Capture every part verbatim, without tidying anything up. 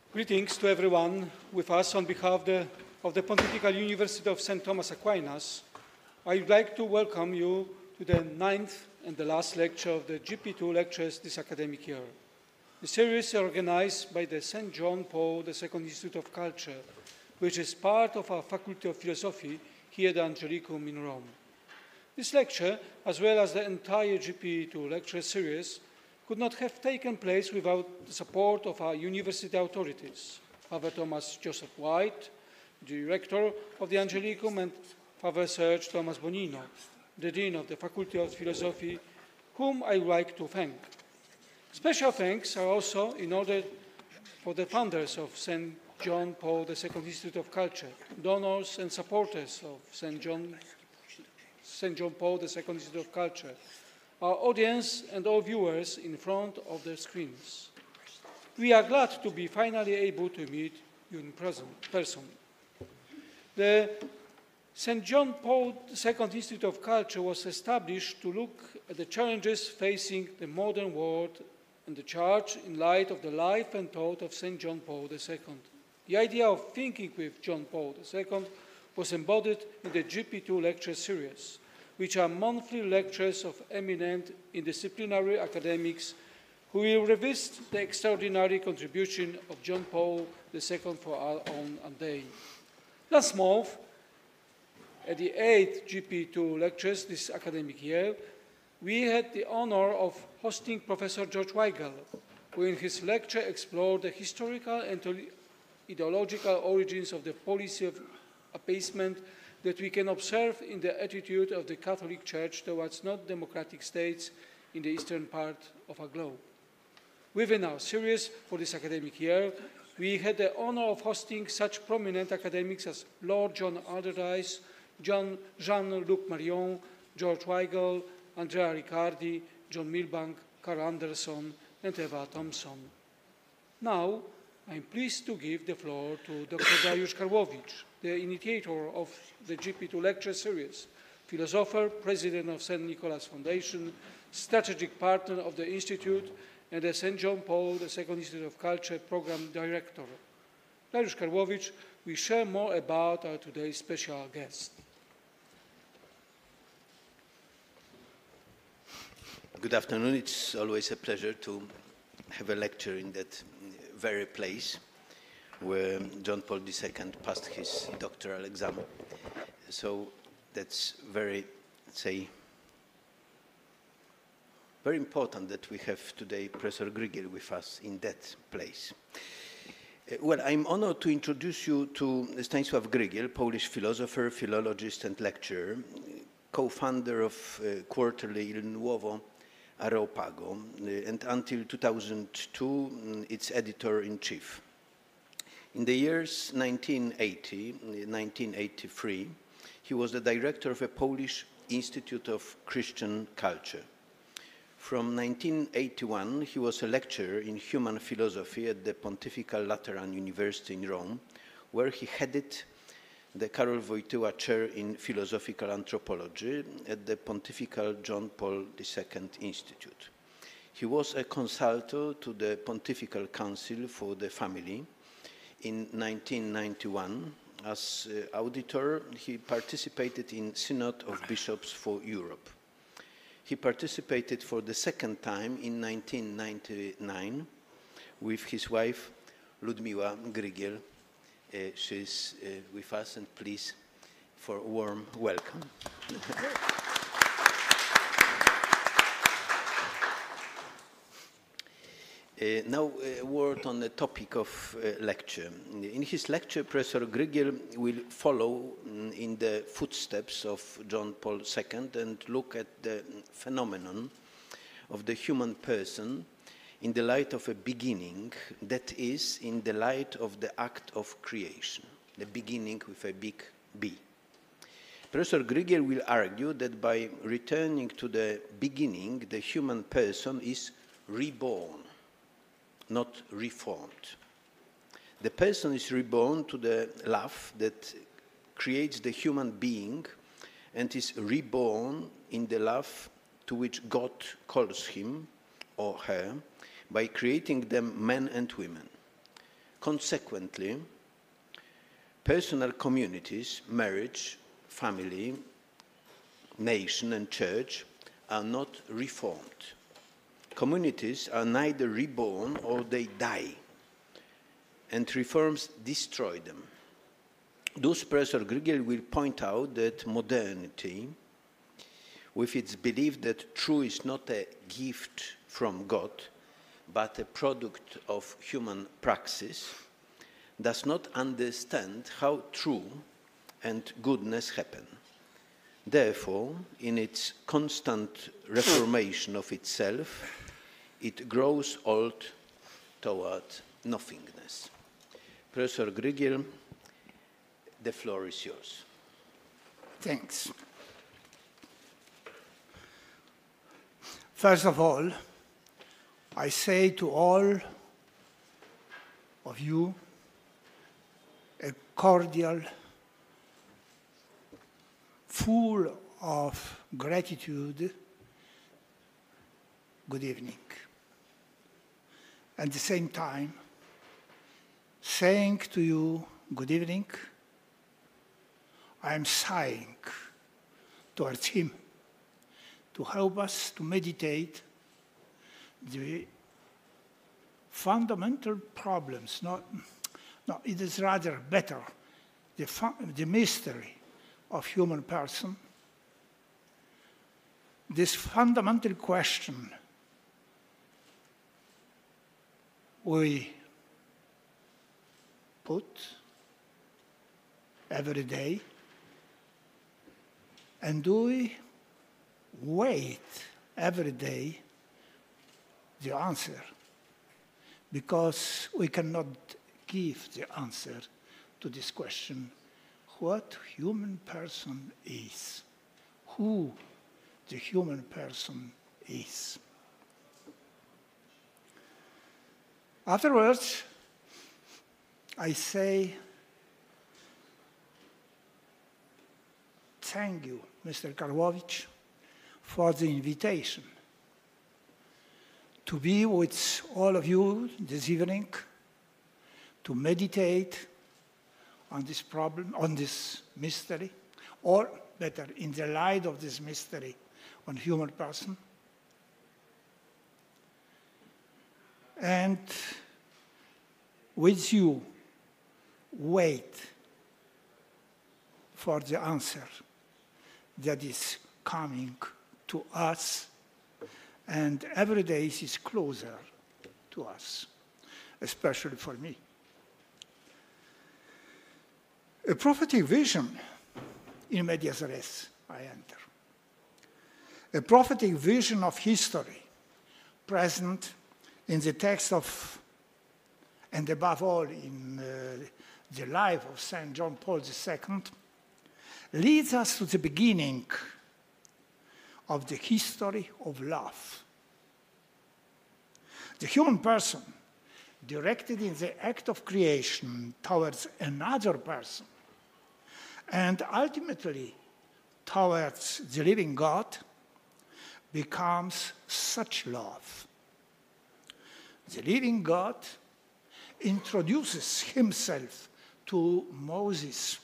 Greetings to everyone with us on behalf of the, of the Pontifical University of Saint Thomas Aquinas. I would like to welcome you to the ninth and the last lecture of the G P two lectures this academic year. The series is organized by the Saint John Paul the Second Institute of Culture, which is part of our Faculty of Philosophy here at the Angelicum in Rome. This lecture, as well as the entire G P two lecture series, could not have taken place without the support of our university authorities, Father Thomas Joseph White, the Director of the Angelicum, and Father Serge Thomas Bonino, the Dean of the Faculty of Philosophy, whom I would like to thank. Special thanks are also in order for the founders of Saint John Paul the Second Institute of Culture, donors and supporters of Saint John, Saint John Paul the Second Institute of Culture, our audience and all viewers in front of the screens. We are glad to be finally able to meet you in person. The Saint John Paul the Second Institute of Culture was established to look at the challenges facing the modern world and the Church in light of the life and thought of Saint John Paul the Second. The idea of thinking with John Paul the Second was embodied in the G P two lecture series, which are monthly lectures of eminent interdisciplinary academics who will revisit the extraordinary contribution of John Paul the Second for our own day. Last month, at the eighth G P two lectures this academic year, we had the honor of hosting Professor George Weigel, who in his lecture explored the historical and ideological origins of the policy of appeasement that we can observe in the attitude of the Catholic Church towards not-democratic states in the eastern part of our globe. Within our series for this academic year, we had the honor of hosting such prominent academics as Lord John Allardyce, John Jean-Luc Marion, George Weigel, Andrea Riccardi, John Milbank, Carl Anderson, and Eva Thompson. Now, I'm pleased to give the floor to Doctor Dariusz Karłowicz, the initiator of the G P two lecture series, philosopher, president of Saint Nicholas Foundation, strategic partner of the Institute, and the Saint John Paul the Second Institute of Culture program director. Dariusz Karłowicz will share more about our today's special guest. Good afternoon. It's always a pleasure to have a lecture in that very place where John Paul the Second passed his doctoral exam. So that's very, let's say, very important that we have today Professor Grygiel with us in that place. Uh, well, I'm honored to introduce you to Stanisław Grygiel, Polish philosopher, philologist, and lecturer, co-founder of uh, quarterly Il Nuovo Areopago, uh, and until two thousand two, um, its editor-in-chief. In the years nineteen eighty to nineteen eighty-three, he was the director of a Polish Institute of Christian Culture. From nineteen eighty-one, he was a lecturer in human philosophy at the Pontifical Lateran University in Rome, where he headed the Karol Wojtyła Chair in Philosophical Anthropology at the Pontifical John Paul the Second Institute. He was a consultor to the Pontifical Council for the Family. In nineteen ninety-one, as uh, auditor, he participated in Synod of Bishops for Europe. He participated for the second time in nineteen ninety-nine with his wife, Ludmiła Grygiel. Uh, she's uh, with us, and please, for a warm welcome. Uh, now, a word on the topic of uh, lecture. In his lecture, Professor Grygiel will follow um, in the footsteps of John Paul the Second and look at the phenomenon of the human person in the light of a beginning, that is, in the light of the act of creation, the beginning with a big B. Professor Grygiel will argue that by returning to the beginning, the human person is reborn, not reformed. The person is reborn to the love that creates the human being and is reborn in the love to which God calls him or her by creating them men and women. Consequently, personal communities, marriage, family, nation, and church are not reformed. Communities are neither reborn or they die, and reforms destroy them. Thus, Professor Grigel will point out that modernity, with its belief that truth is not a gift from God, but a product of human praxis, does not understand how true and goodness happen. Therefore, in its constant reformation of itself, it grows old toward nothingness. Professor Grigel, the floor is yours. Thanks. First of all, I say to all of you a cordial, full of gratitude, good evening. At the same time, saying to you good evening, I am sighing towards him to help us to meditate the fundamental problems, not, no, it is rather better, the, the mystery of human person, this fundamental question we put every day, and do we wait every day the answer? Because we cannot give the answer to this question, what human person is, who the human person is. Afterwards, I say, thank you, Mister Karłowicz, for the invitation to be with all of you this evening, to meditate on this problem, on this mystery, or better, in the light of this mystery on human person. And with you, wait for the answer that is coming to us, and every day is closer to us, especially for me. A prophetic vision, in medias res, I enter. A prophetic vision of history, present in the text of, and above all in uh, the life of Saint John Paul the Second, leads us to the beginning of the history of love. The human person, directed in the act of creation towards another person, and ultimately towards the living God, becomes such love. The living God introduces himself to Moses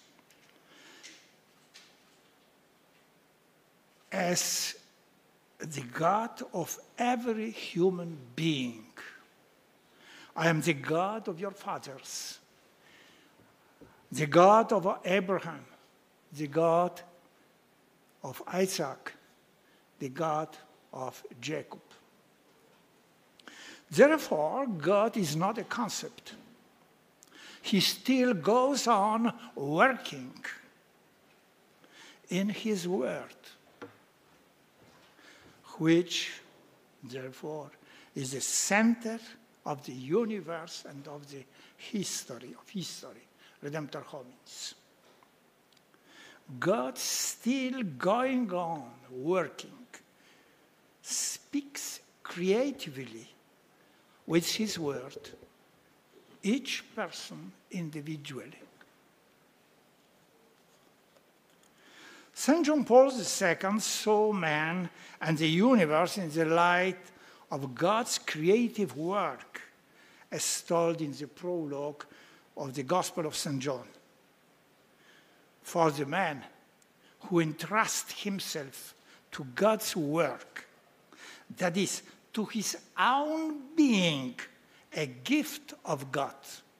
as the God of every human being. I am the God of your fathers, the God of Abraham, the God of Isaac, the God of Jacob. Therefore, God is not a concept. He still goes on working in his word, which, therefore, is the center of the universe and of the history, of history, Redemptor Hominis. God still going on working, speaks creatively with his word, each person individually. Saint John Paul the Second saw man and the universe in the light of God's creative work as told in the prologue of the Gospel of Saint John. For the man who entrusts himself to God's work, that is, to his own being, a gift of God.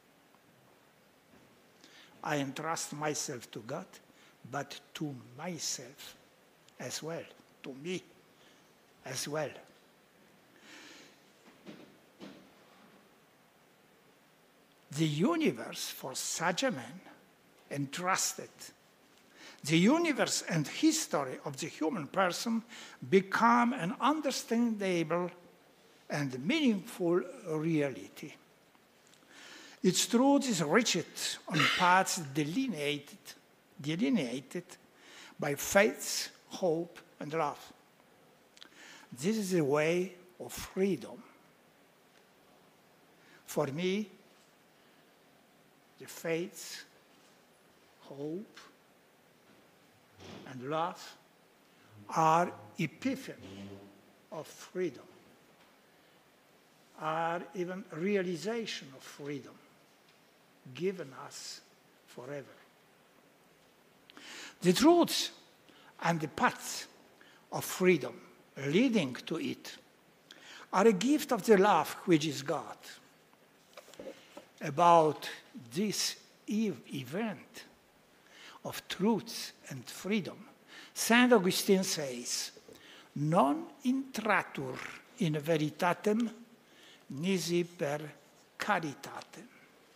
I entrust myself to God, but to myself as well, to me as well. The universe for such a man entrusted, the universe and history of the human person become an understandable and meaningful reality. Its truth is reached on paths delineated, delineated by faith, hope, and love. This is the way of freedom. For me, the faith, hope, and love are epiphany of freedom, are even realization of freedom given us forever. The truths and the paths of freedom leading to it are a gift of the love which is God. About this event of truth and freedom, Saint Augustine says, non intratur in veritatem nisi per caritatem.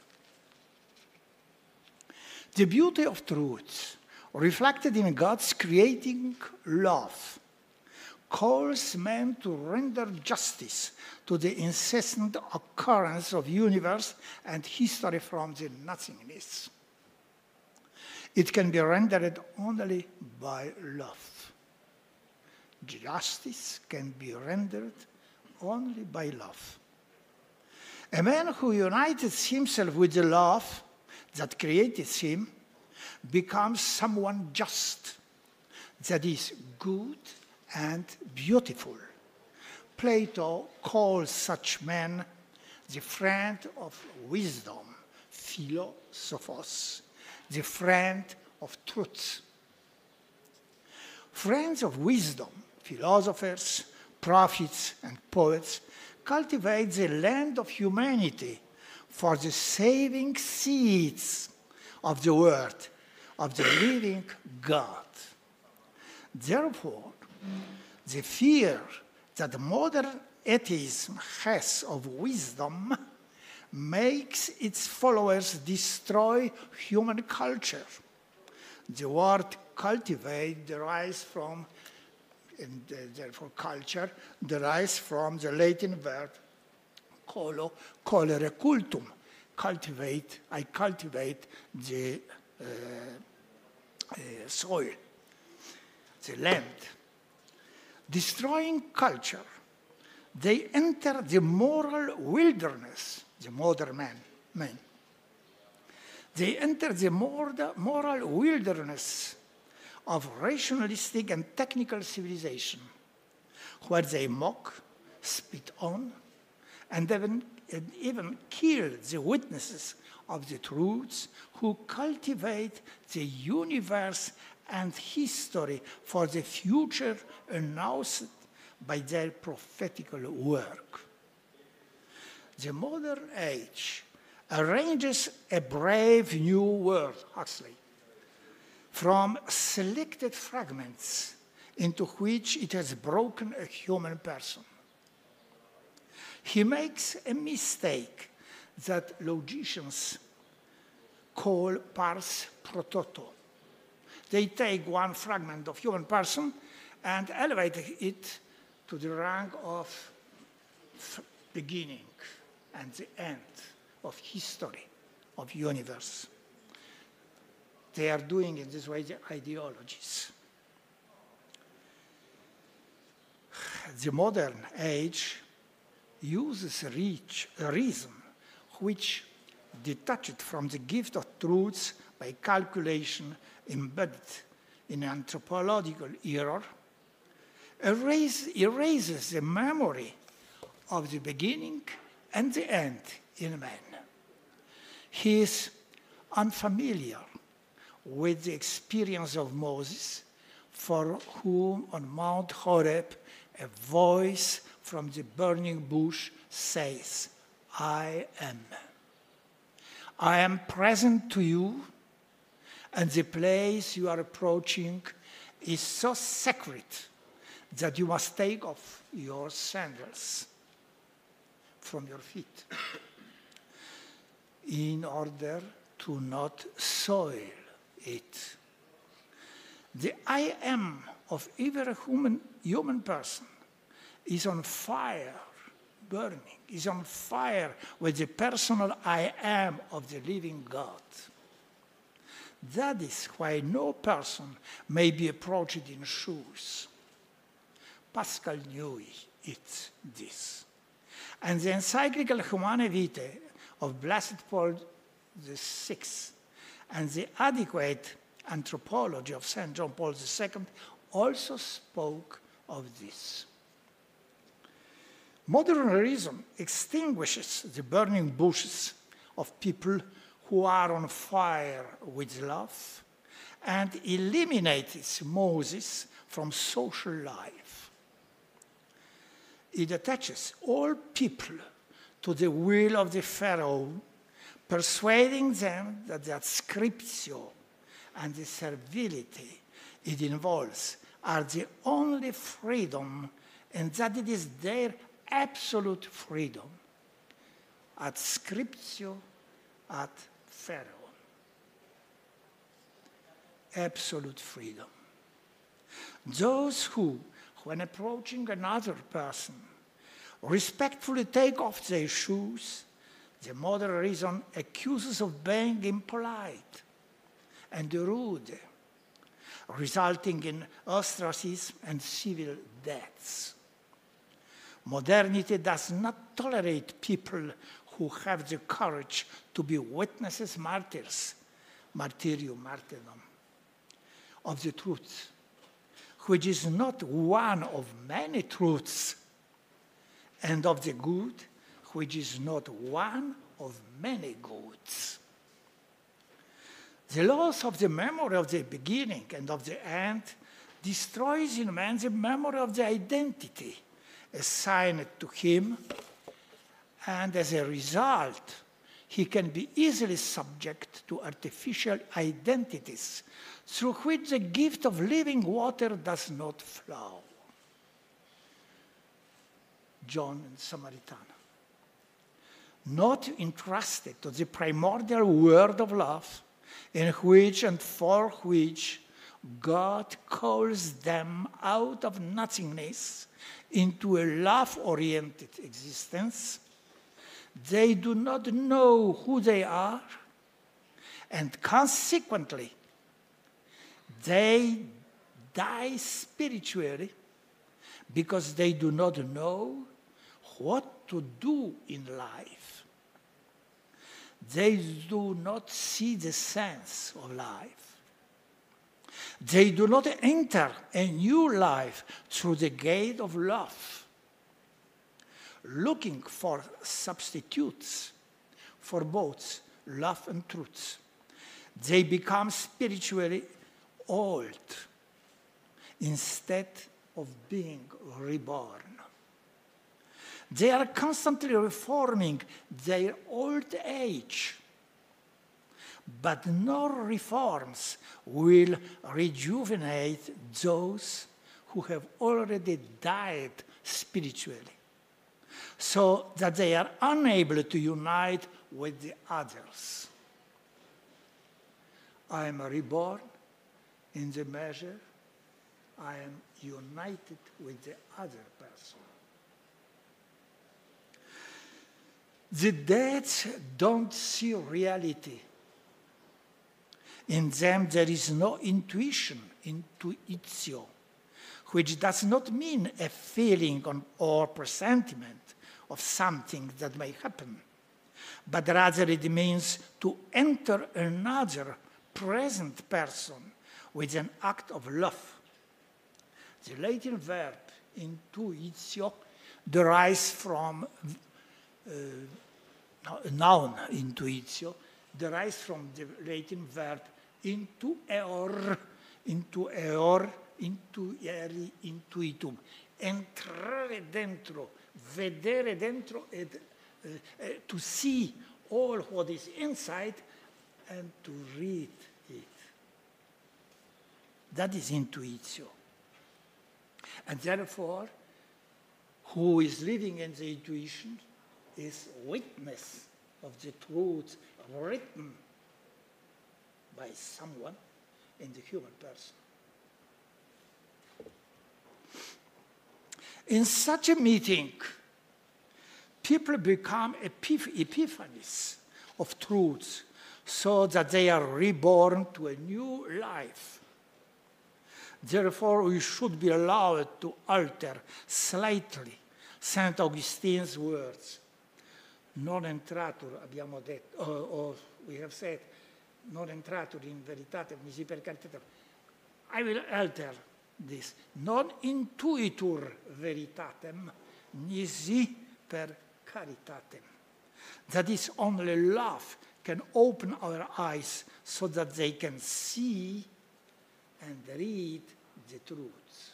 The beauty of truth, reflected in God's creating love, calls men to render justice to the incessant occurrence of universe and history from the nothingness. It can be rendered only by love. Justice can be rendered only by love. A man who unites himself with the love that created him becomes someone just, that is good and beautiful. Plato calls such men the friend of wisdom, philosophos, the friend of truth. Friends of wisdom, philosophers, prophets, and poets cultivate the land of humanity for the saving seeds of the word of the living God. Therefore, the fear that modern atheism has of wisdom makes its followers destroy human culture. The word cultivate derives from, and therefore culture, derives from the Latin verb colo, colere cultum. Cultivate, I cultivate the uh, uh, soil, the land. Destroying culture, they enter the moral wilderness, the modern man, man. They enter the moral wilderness of rationalistic and technical civilization, where they mock, spit on, and even, and even kill the witnesses of the truths who cultivate the universe and history for the future announced by their prophetical work. The modern age arranges a brave new world, Huxley, from selected fragments into which it has broken a human person. He makes a mistake that logicians call pars pro toto. They take one fragment of human person and elevate it to the rank of beginning and the end of history, of universe. They are doing in this way the ideologies. The modern age uses reach, a reason which, detached from the gift of truths by calculation embedded in anthropological error, erase, erases the memory of the beginning and the end in man. He is unfamiliar with the experience of Moses, for whom on Mount Horeb a voice from the burning bush says, I am. I am present to you, and the place you are approaching is so sacred that you must take off your sandals from your feet in order to not soil it. The I am of every human, human person is on fire, burning, is on fire with the personal I am of the living God. That is why no person may be approached in shoes. Pascal knew it, this. And the encyclical Humanae Vitae of Blessed Paul the Sixth and the adequate anthropology of Saint John Paul the Second also spoke of this. Modern reason extinguishes the burning bushes of people who are on fire with love and eliminates Moses from social life. It attaches all people to the will of the Pharaoh, persuading them that the adscriptio and the servility it involves are the only freedom, and that it is their absolute freedom. Adscriptio ad Pharaoh. Absolute freedom. Those who, when approaching another person, respectfully take off their shoes, the modern reason accuses of being impolite and rude, resulting in ostracism and civil deaths. Modernity does not tolerate people who have the courage to be witnesses, martyrs, martyrium, martyrdom, of the truth, which is not one of many truths, and of the good, which is not one of many goods. The loss of the memory of the beginning and of the end destroys in man the memory of the identity assigned to him, and as a result, he can be easily subject to artificial identities through which the gift of living water does not flow. John and Samaritana. Not entrusted to the primordial word of love, in which and for which God calls them out of nothingness into a love-oriented existence, they do not know who they are, and consequently, they die spiritually because they do not know what to do in life. They do not see the sense of life. They do not enter a new life through the gate of love, looking for substitutes for both love and truth. They become spiritually old instead of being reborn. They are constantly reforming their old age, but no reforms will rejuvenate those who have already died spiritually, so that they are unable to unite with the others. I am reborn in the measure I am united with the other person. The dead don't see reality. In them there is no intuition, intuitio, which does not mean a feeling or presentiment of something that may happen, but rather it means to enter another present person with an act of love. The Latin verb intuitio derives from uh, noun intuitio, derives from the Latin verb intueor, intueor, intueri, intuitum. Entrare dentro, vedere dentro, and uh, uh, to see all what is inside and to read it. That is intuitio. And therefore, who is living in the intuition is witness of the truth written by someone in the human person. In such a meeting, people become epiph- epiphanies of truths so that they are reborn to a new life. Therefore, we should be allowed to alter slightly Saint Augustine's words. Non entratur, abbiamo detto, or, or we have said, non entratur in veritatem nisi per caritatem. I will alter this. Non intuitur veritatem nisi per caritatem. That is, only love can open our eyes so that they can see and read the truths.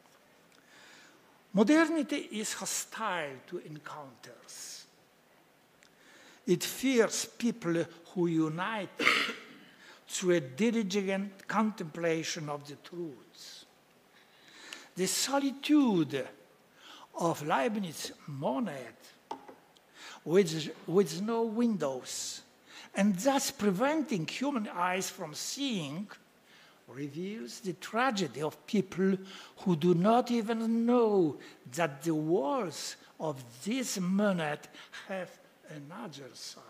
Modernity is hostile to encounters. It fears people who unite through a diligent contemplation of the truths. The solitude of Leibniz's monad, with, with no windows, and thus preventing human eyes from seeing, reveals the tragedy of people who do not even know that the walls of this monad have another side.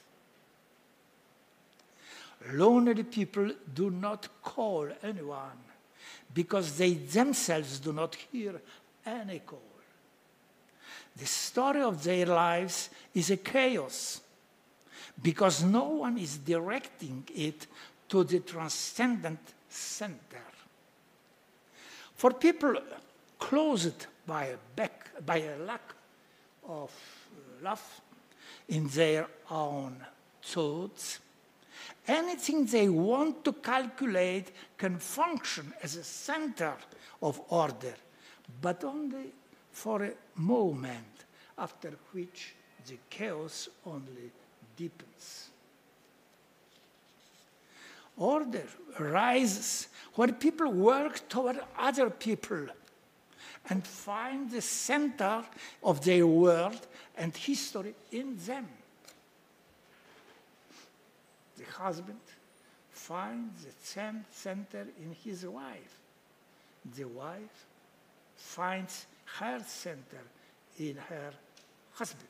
Lonely people do not call anyone because they themselves do not hear any call. The story of their lives is a chaos because no one is directing it to the transcendent center. For people closed by a, back, by a lack of love in their own thoughts, anything they want to calculate can function as a center of order, but only for a moment, after which the chaos only deepens. Order arises when people work toward other people and find the center of their world and history in them. The husband finds the center in his wife. The wife finds her center in her husband.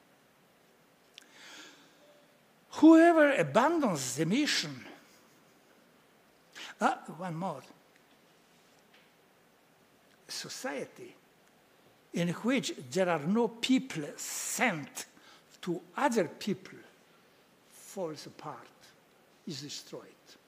Whoever abandons the mission, ah, one more, society in which there are no people sent to other people falls apart, is destroyed.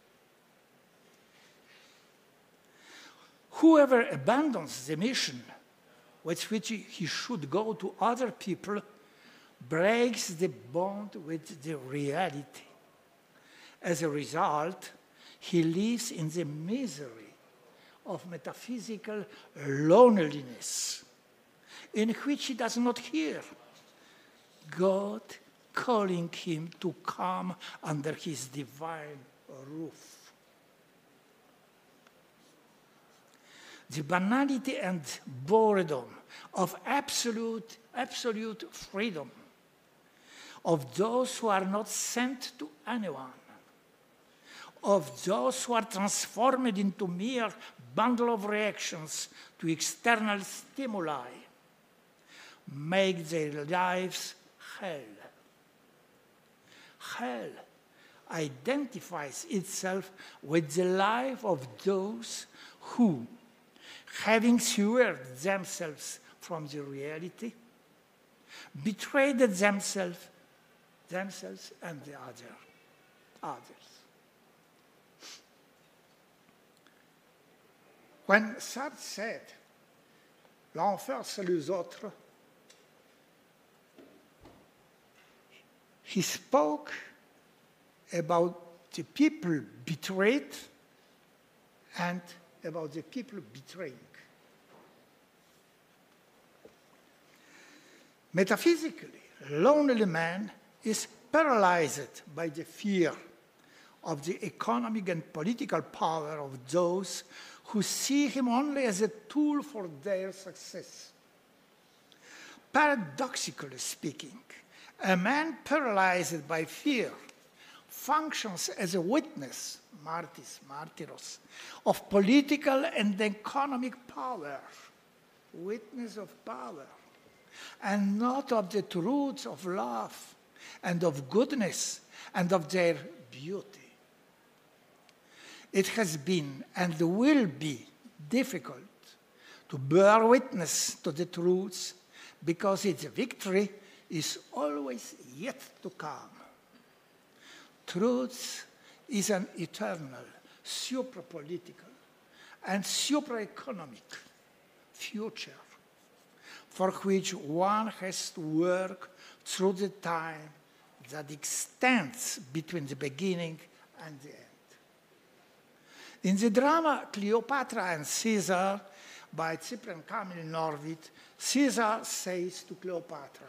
Whoever abandons the mission with which he should go to other people breaks the bond with the reality. As a result, he lives in the misery of metaphysical loneliness, in which he does not hear God calling him to come under his divine roof. The banality and boredom of absolute, absolute freedom of those who are not sent to anyone, of those who are transformed into mere bundle of reactions to external stimuli, make their lives hell. Hell identifies itself with the life of those who, having severed themselves from the reality, betrayed themselves, themselves and the other, others. When Sartre said, l'enfer c'est les autres, He spoke about the people betrayed and about the people betraying. Metaphysically, a lonely man is paralyzed by the fear of the economic and political power of those who see him only as a tool for their success. Paradoxically speaking, a man paralyzed by fear functions as a witness, martis, martyros, of political and economic power, witness of power, and not of the truths of love and of goodness and of their beauty. It has been and will be difficult to bear witness to the truths because its victory is always yet to come. Truth is an eternal, supra-political, and supra-economic future for which one has to work through the time that extends between the beginning and the end. In the drama Cleopatra and Caesar by Cyprian Kamil Norwid, Caesar says to Cleopatra,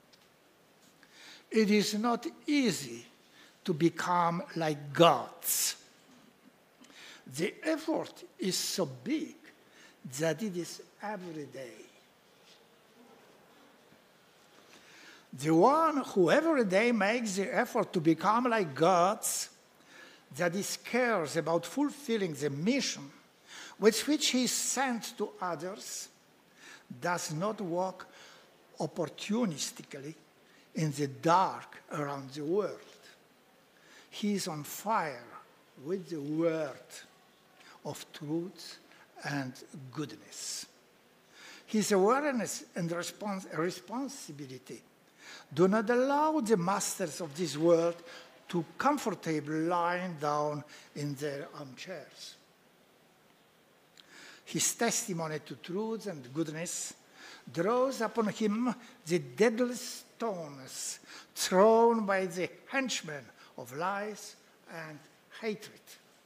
"It is not easy to become like gods. The effort is so big that it is every day. The one who every day makes the effort to become like gods, that is cares about fulfilling the mission with which he is sent to others, does not walk opportunistically in the dark around the world. He is on fire with the word of truth and goodness. His awareness and respons- responsibility do not allow the masters of this world to comfortably lie down in their armchairs. His testimony to truth and goodness draws upon him the deadly stones thrown by the henchmen of lies and hatred.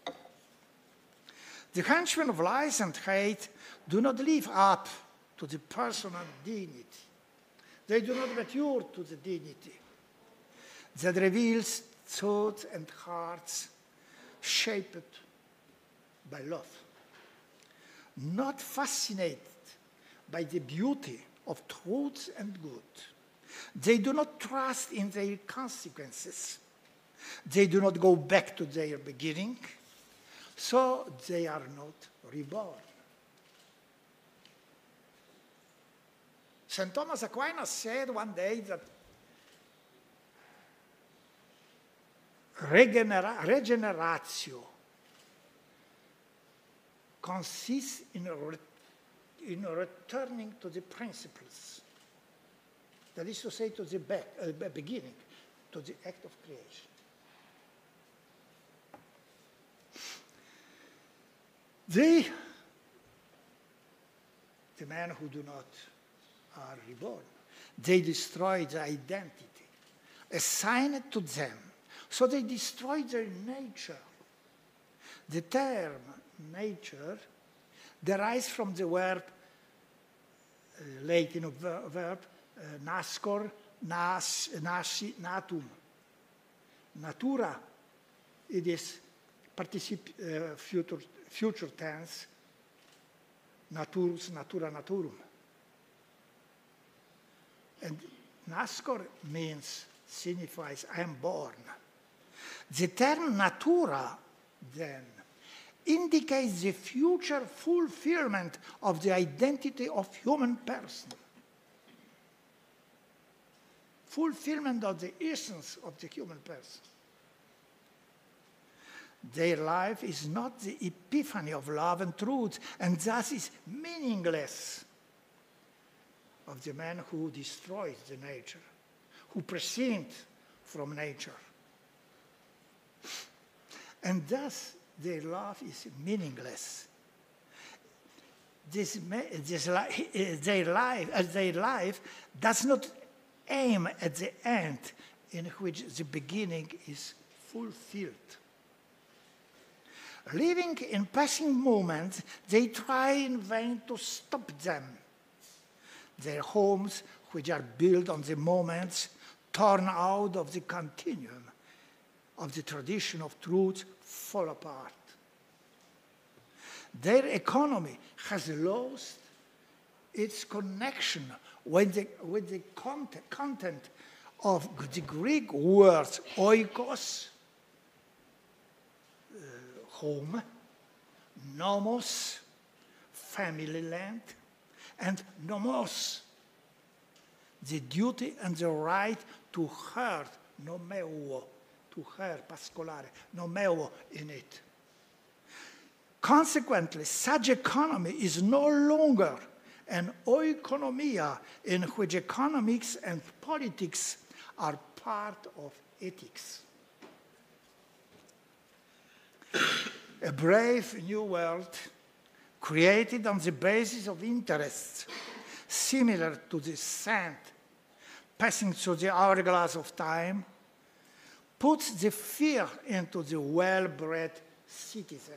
The henchmen of lies and hate do not live up to the personal dignity. They do not mature to the dignity that reveals thoughts and hearts shaped by love. Not fascinated by the beauty of truth and good. They do not trust in their consequences. They do not go back to their beginning, so they are not reborn. Saint Thomas Aquinas said one day that regenera- regeneratio consists in, re- in returning to the principles. That is to say, to the back, uh, beginning, to the act of creation. They, the men who do not are reborn, they destroy the identity assigned to them. So they destroy their nature. The term nature derives from the verb, uh, Latin verb, uh, nascor, nas, nasi, natum. Natura, it is particip, uh, future, future tense, naturus, natura, naturum. And nascor means, signifies, I am born. The term natura, then, indicates the future fulfillment of the identity of human person. Fulfillment of the essence of the human person. Their life is not the epiphany of love and truth, and thus is meaningless of the man who destroys the nature, who prescinde from nature. And thus, their love is meaningless. This, this, their, life, uh, their life does not aim at the end in which the beginning is fulfilled. Living in passing moments, they try in vain to stop them. Their homes, which are built on the moments, torn out of the continuum of the tradition of truth, fall apart. Their economy has lost its connection with the, with the content, content of the Greek words oikos, uh, home, nomos, family land, and nomos, the duty and the right to herd, nomeo, to herd, pascolare, nomeo in it. Consequently, such economy is no longer an oikonomia in which economics and politics are part of ethics. A brave new world created on the basis of interests similar to the sand passing through the hourglass of time puts the fear into the well-bred citizens.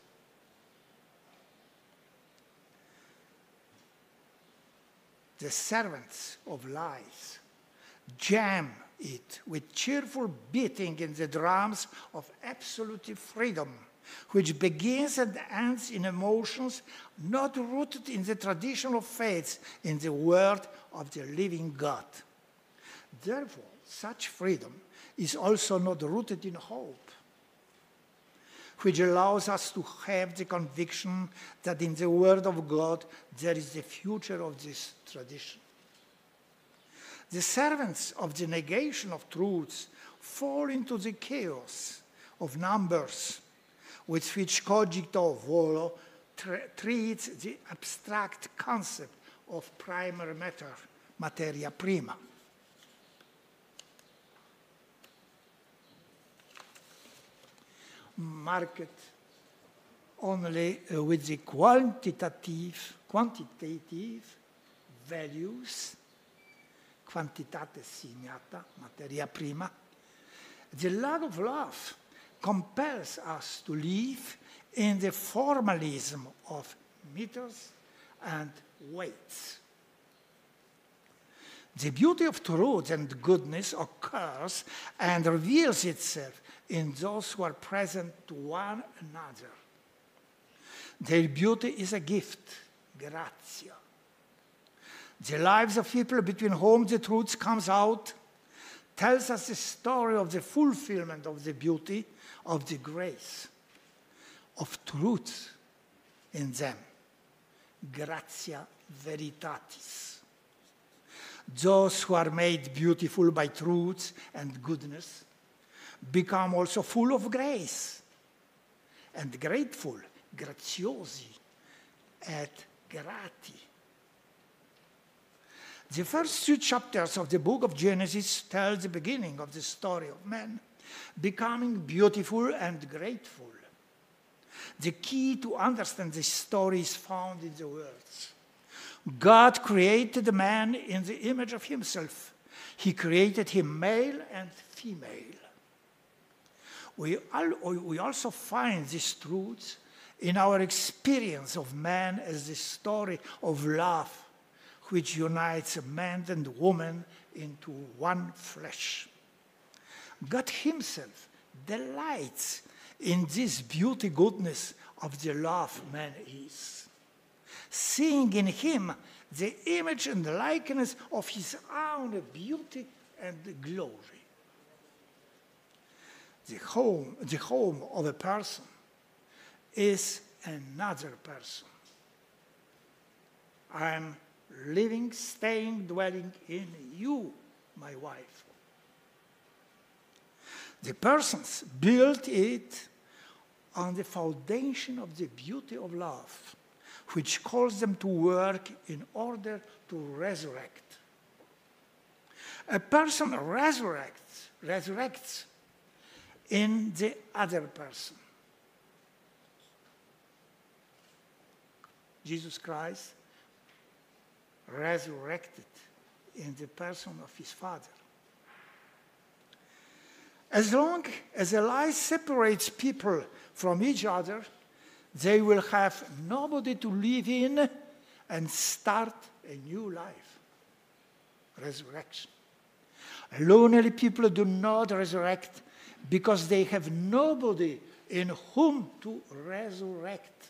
The servants of lies jam it with cheerful beating in the drums of absolute freedom, which begins and ends in emotions not rooted in the traditional faiths in the word of the living God. Therefore, such freedom is also not rooted in hope, which allows us to have the conviction that in the Word of God there is the future of this tradition. The servants of the negation of truths fall into the chaos of numbers with which Cogito Volo tra- treats the abstract concept of primary matter, materia prima. Market only uh, with the quantitative, quantitative values, quantitate signata, materia prima, the lack of love compels us to live in the formalism of meters and weights. The beauty of truth and goodness occurs and reveals itself in those who are present to one another. Their beauty is a gift, gratia. The lives of people between whom the truth comes out tells us the story of the fulfillment of the beauty, of the grace, of truth in them. Gratia veritatis. Those who are made beautiful by truth and goodness become also full of grace and grateful, graziosi et grati. The first two chapters of the book of Genesis tell the beginning of the story of man becoming beautiful and grateful. The key to understand this story is found in the words. God created man in the image of himself. He created him male and female. We, al- we also find these truths in our experience of man as the story of love, which unites man and woman into one flesh. God himself delights in this beauty goodness of the love man is, seeing in him the image and the likeness of his own beauty and glory. The home, the home of a person is another person. I am living, staying, dwelling in you, my wife. The persons built it on the foundation of the beauty of love, which calls them to work in order to resurrect. A person resurrects, resurrects in the other person. Jesus Christ resurrected in the person of his Father. As long as a lie separates people from each other, they will have nobody to live in and start a new life. Resurrection. Lonely people do not resurrect because they have nobody in whom to resurrect.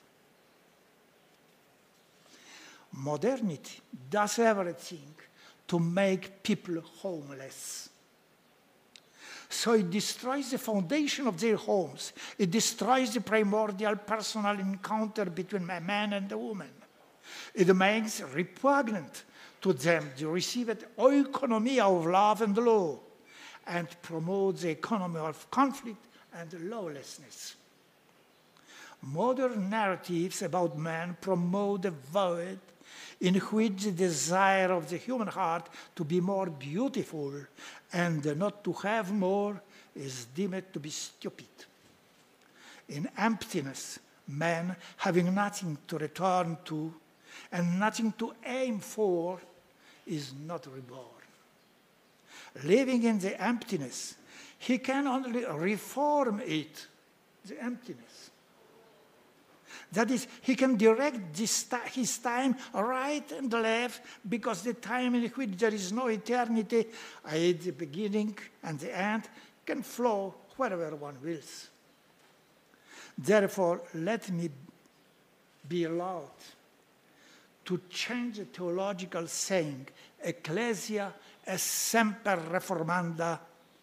Modernity does everything to make people homeless. So it destroys the foundation of their homes. It destroys the primordial personal encounter between a man and a woman. It makes repugnant to them the received oikonomia of love and law, and promotes the economy of conflict and lawlessness. Modern narratives about man promote a void in which the desire of the human heart to be more beautiful and not to have more is deemed to be stupid. In emptiness, man, having nothing to return to and nothing to aim for, is not reborn. Living in the emptiness, he can only reform it, the emptiness. That is, he can direct this, his time right and left, because the time in which there is no eternity, that is the beginning and the end, can flow wherever one wills. Therefore, let me be allowed to change the theological saying, Ecclesia est semper reformanda.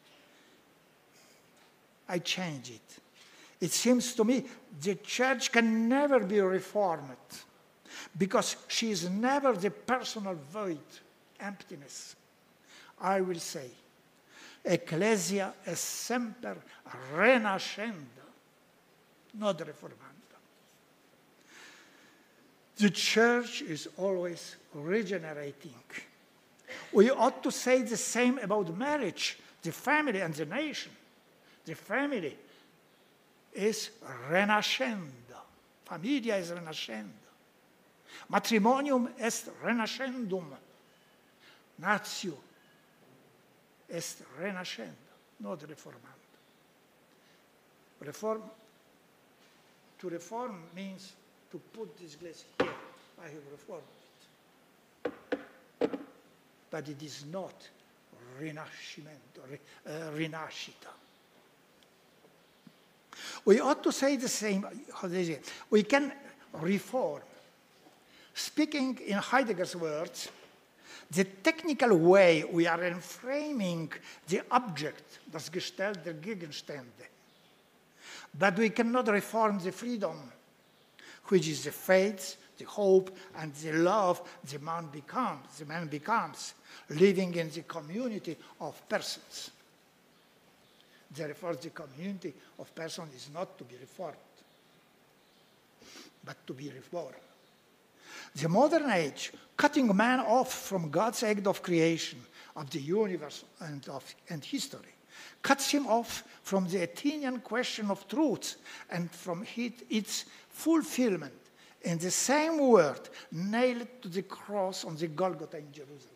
I change it. It seems to me the church can never be reformed because she is never the personal void, emptiness. I will say, Ecclesia est semper renascenda, not reformanda. The church is always regenerating. We ought to say the same about marriage, the family, and the nation. The family is renascendo. Familia is renascendo. Matrimonium est renascendum. Natio est renascendo, not reformando. Reform, to reform means to put this glass here. I have reformed it. But it is not rinascimento, uh, rinascita. We ought to say the same, how they say, we can reform. Speaking in Heidegger's words, the technical way we are enframing the object, das Gestell der Gegenstände, but we cannot reform the freedom, which is the faith, the hope, and the love the man becomes, the man becomes, living in the community of persons. Therefore, the community of persons is not to be reformed, but to be reformed. The modern age, cutting man off from God's act of creation, of the universe and, of, and history, cuts him off from the Athenian question of truth and from it, its fulfillment in the same word nailed to the cross on the Golgotha in Jerusalem.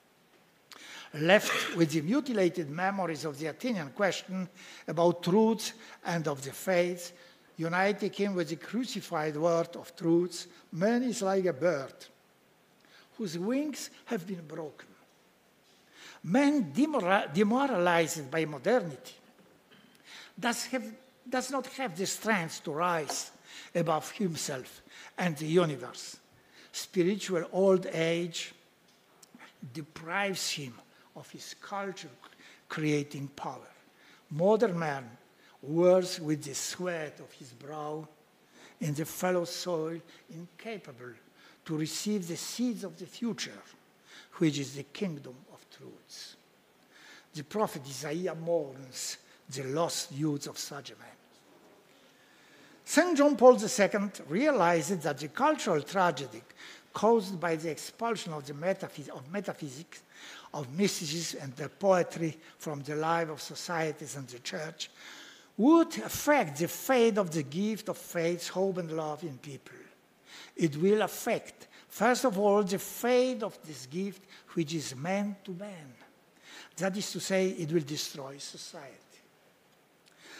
Left with the mutilated memories of the Athenian question about truth and of the faith, uniting him with the crucified word of truth, man is like a bird whose wings have been broken. Man, demoralized by modernity, does, have, does not have the strength to rise above himself and the universe. Spiritual old age deprives him of his culture creating power. Modern man wears with the sweat of his brow in the fallow soil, incapable to receive the seeds of the future, which is the kingdom of truths. The prophet Isaiah mourns the lost youth of such a man. Saint John Paul the Second realized that the cultural tragedy caused by the expulsion of, the metaphys of metaphysics, of mysticism and the poetry from the life of societies and the church would affect the fate of the gift of faith, hope, and love in people. It will affect, first of all, the fate of this gift, which is man to man. That is to say, it will destroy society.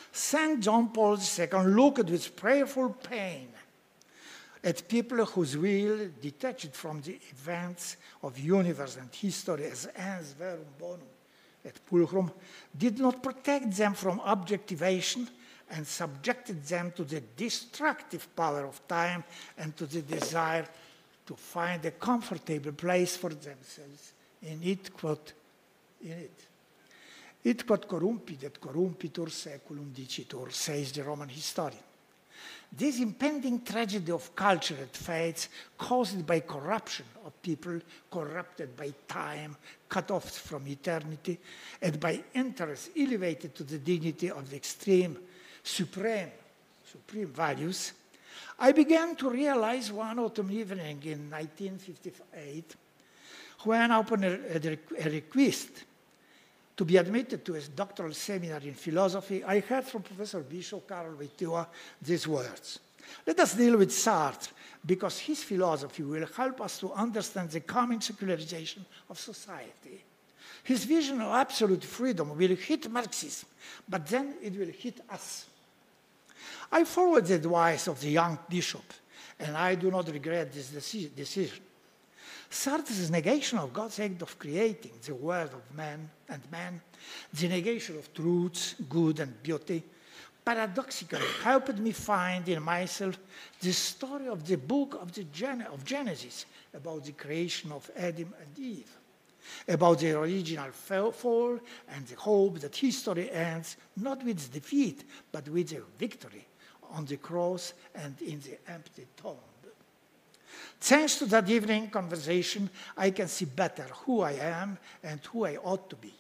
Saint John Paul the Second looked with prayerful pain at people whose will, detached from the events of universe and history as ens verum bonum et pulchrum, did not protect them from objectivation and subjected them to the destructive power of time and to the desire to find a comfortable place for themselves in it, quote, in it. It quod corrumpit et corrumpitur saeculum dicitur, says the Roman historian. This impending tragedy of culture and faiths caused by corruption of people corrupted by time, cut off from eternity, and by interests elevated to the dignity of the extreme, supreme, supreme values, I began to realize one autumn evening in nineteen fifty-eight, when upon a, a, a request to be admitted to a doctoral seminary in philosophy, I heard from Professor Bishop Karol Wojtyła these words. Let us deal with Sartre, because his philosophy will help us to understand the coming secularization of society. His vision of absolute freedom will hit Marxism, but then it will hit us. I followed the advice of the young bishop, and I do not regret this deci- decision. Sartre's negation of God's act of creating the world of man and man, the negation of truths, good and beauty, paradoxically helped me find in myself the story of the book of, the Gen- of Genesis about the creation of Adam and Eve, about the original fall and the hope that history ends not with defeat, but with a victory on the cross and in the empty tomb. Thanks to that evening conversation, I can see better who I am and who I ought to be.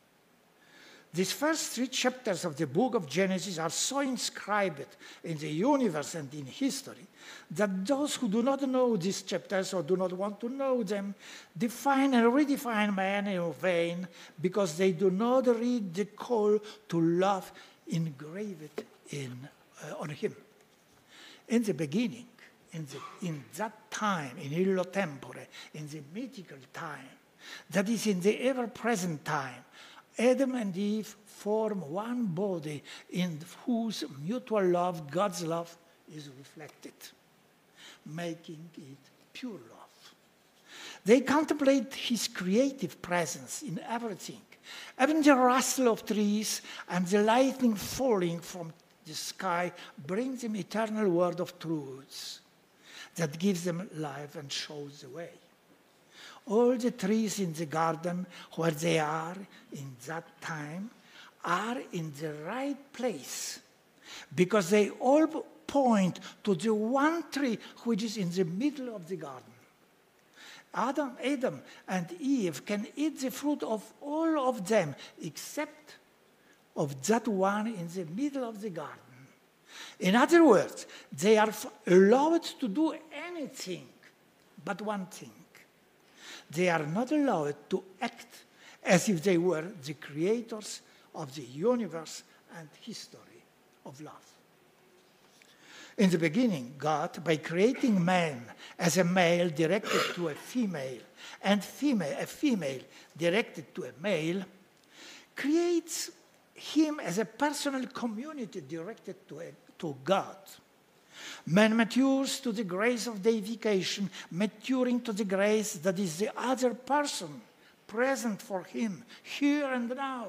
These first three chapters of the book of Genesis are so inscribed in the universe and in history that those who do not know these chapters or do not want to know them define and redefine man in vain because they do not read the call to love engraved in, uh, on him. In the beginning, In, the, in that time, in illo tempore, in the mythical time, that is in the ever-present time, Adam and Eve form one body in whose mutual love, God's love, is reflected, making it pure love. They contemplate his creative presence in everything, even the rustle of trees and the lightning falling from the sky brings them eternal word of truths that gives them life and shows the way. All the trees in the garden, where they are in that time, are in the right place because they all point to the one tree which is in the middle of the garden. Adam, Adam and Eve can eat the fruit of all of them except of that one in the middle of the garden. In other words, they are allowed to do anything but one thing. They are not allowed to act as if they were the creators of the universe and history of love. In the beginning, God, by creating man as a male directed to a female and female, a female directed to a male, creates him as a personal community directed to, a, to God. Man matures to the grace of deification, maturing to the grace that is the other person, present for him, here and now.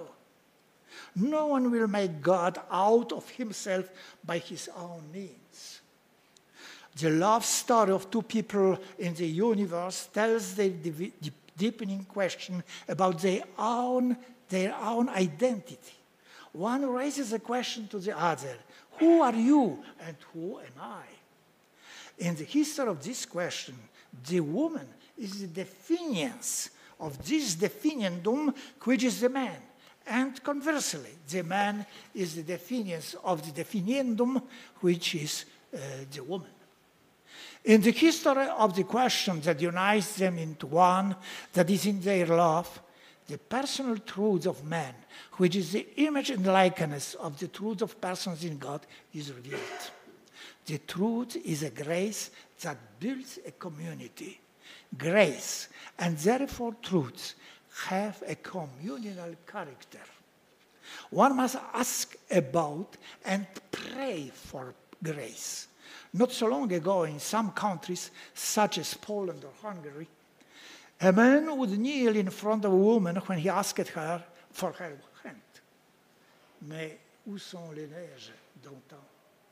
No one will make God out of himself by his own means. The love story of two people in the universe tells the deepening question about their own, their own identity. One raises a question to the other, who are you and who am I? In the history of this question, the woman is the definiance of this definiendum, which is the man. And conversely, the man is the definiance of the definiendum, which is uh, the woman. In the history of the question that unites them into one, that is in their love, the personal truth of man, which is the image and likeness of the truth of persons in God, is revealed. The truth is a grace that builds a community. Grace, and therefore truths, have a communal character. One must ask about and pray for grace. Not so long ago, in some countries, such as Poland or Hungary, a man would kneel in front of a woman when he asked her for her hand. Mais où sont les neiges d'antan?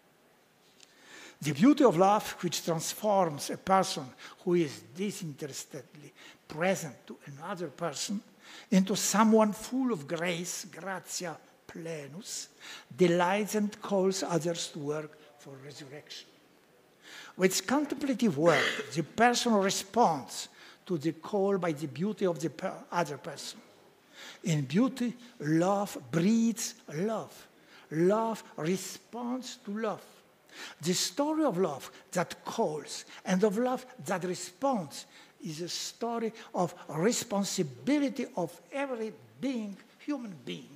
The beauty of love, which transforms a person who is disinterestedly present to another person into someone full of grace, gratia plenus, delights and calls others to work for resurrection. With contemplative work, the person responds to the call by the beauty of the per- other person. In beauty, love breeds love. Love responds to love. The story of love that calls and of love that responds is a story of responsibility of every being, human being.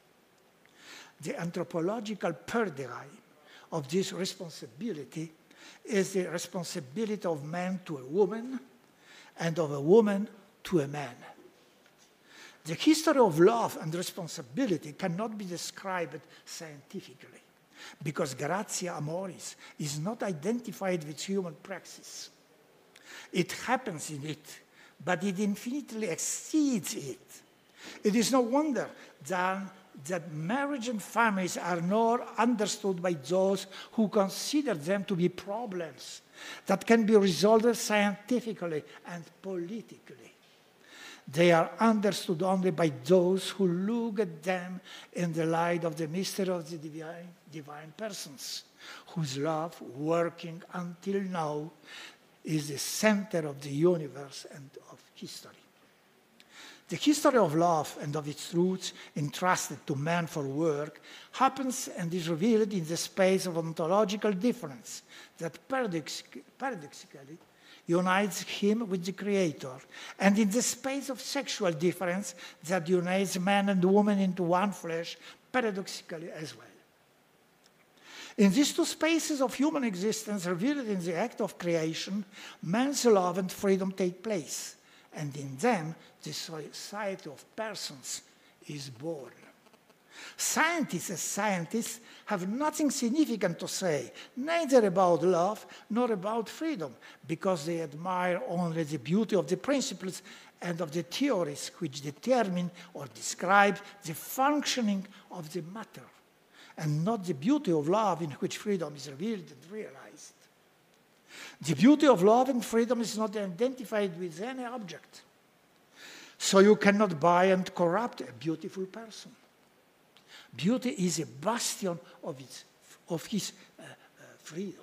The anthropological paradigm of this responsibility is the responsibility of man to a woman and of a woman to a man. The history of love and responsibility cannot be described scientifically, because gratia amoris is not identified with human praxis. It happens in it, but it infinitely exceeds it. It is no wonder that, that marriage and families are not understood by those who consider them to be problems that can be resolved scientifically and politically. They are understood only by those who look at them in the light of the mystery of the divine, divine persons, whose love, working until now, is the center of the universe and of history. The history of love and of its roots entrusted to man for work happens and is revealed in the space of ontological difference that paradox- paradoxically unites him with the Creator, and in the space of sexual difference that unites man and woman into one flesh, paradoxically as well. In these two spaces of human existence revealed in the act of creation, man's love and freedom take place, and in them the society of persons is born. Scientists as scientists have nothing significant to say, neither about love nor about freedom, because they admire only the beauty of the principles and of the theories which determine or describe the functioning of the matter, and not the beauty of love in which freedom is revealed and realized. The beauty of love and freedom is not identified with any object, so you cannot buy and corrupt a beautiful person. Beauty is a bastion of, its, of his uh, uh, freedom.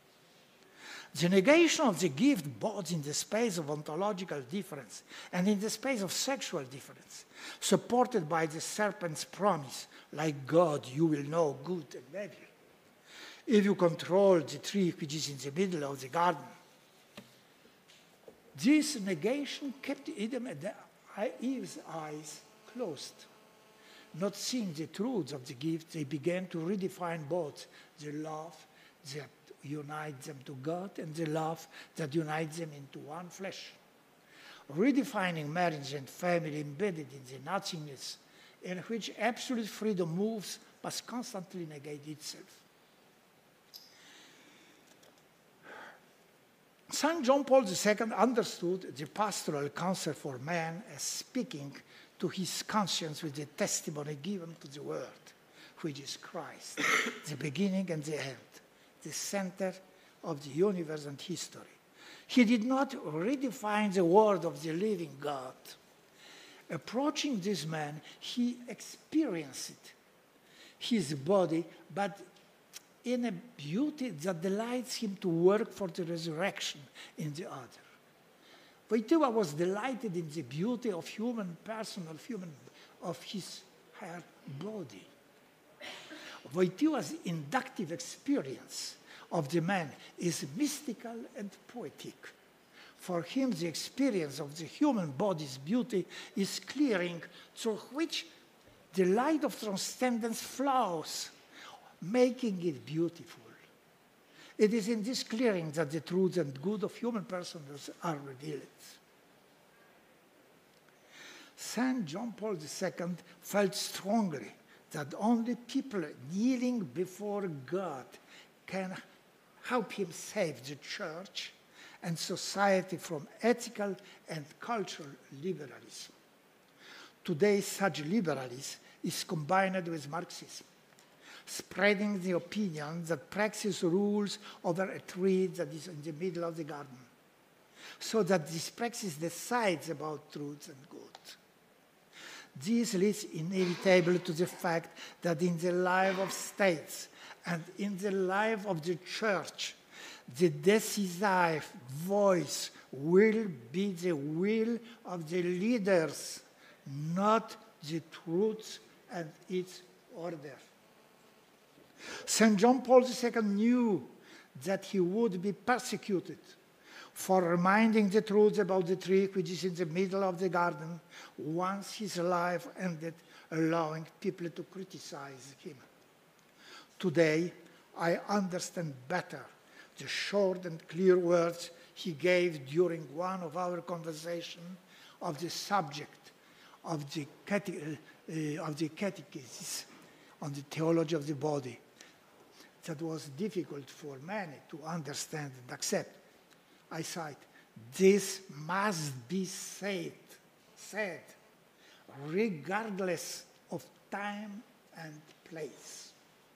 The negation of the gift both in the space of ontological difference and in the space of sexual difference, supported by the serpent's promise, like God, you will know good and evil, if you control the tree which is in the middle of the garden. This negation kept Adam and Eve's eyes closed. Not seeing the truths of the gift, they began to redefine both the love that unites them to God and the love that unites them into one flesh. Redefining marriage and family embedded in the nothingness in which absolute freedom moves must constantly negate itself. Saint John Paul the Second understood the pastoral counsel for man as speaking to his conscience with the testimony given to the Word, which is Christ, the beginning and the end, the center of the universe and history. He did not redefine the word of the living God. Approaching this man, he experienced his body, but in a beauty that delights him to work for the resurrection in the other. Wojtyła was delighted in the beauty of human person, of human, of his her body. Wojtyła's inductive experience of the man is mystical and poetic. For him, the experience of the human body's beauty is clearing through which the light of transcendence flows, making it beautiful. It is in this clearing that the truth and good of human persons are revealed. Saint John Paul the Second felt strongly that only people kneeling before God can help him save the church and society from ethical and cultural liberalism. Today, such liberalism is combined with Marxism, spreading the opinion that praxis rules over a tree that is in the middle of the garden, so that this praxis decides about truth and good. This leads inevitably to the fact that in the life of states and in the life of the church, the decisive voice will be the will of the leaders, not the truth and its order. Saint John Paul the Second knew that he would be persecuted for reminding the truth about the tree which is in the middle of the garden once his life ended, allowing people to criticize him. Today, I understand better the short and clear words he gave during one of our conversations of the subject of the, cate- uh, of the catechism on the theology of the body. That was difficult for many to understand and accept. I cite, "This must be said, said, regardless of time and place."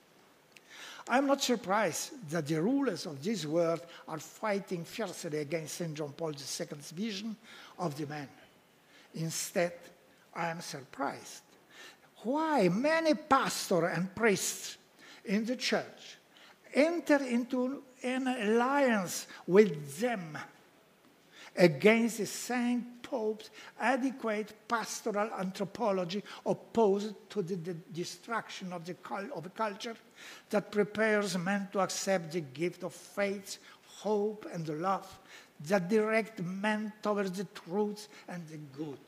I'm not surprised that the rulers of this world are fighting fiercely against Saint John Paul the Second's vision of the man. Instead, I am surprised why many pastors and priests in the church enter into an alliance with them against the Saint Pope's adequate pastoral anthropology opposed to the, the destruction of, the, of a culture that prepares men to accept the gift of faith, hope, and love that direct men towards the truth and the good.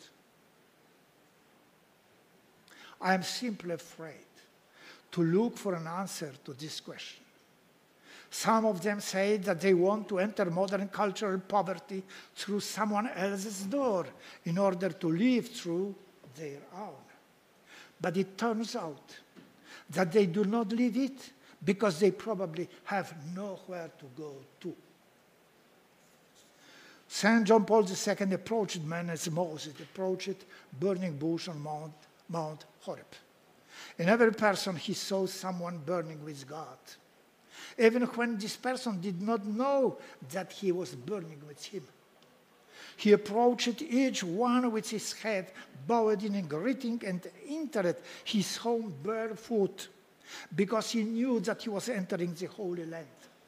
I am simply afraid to look for an answer to this question. Some of them say that they want to enter modern cultural poverty through someone else's door in order to live through their own. But it turns out that they do not live it because they probably have nowhere to go to. Saint John Paul the Second approached man as Moses approached burning bush on Mount, Mount Horeb. In every person he saw someone burning with God, even when this person did not know that he was burning with him. He approached each one with his head bowed in greeting and entered his home barefoot, because he knew that he was entering the Holy Land.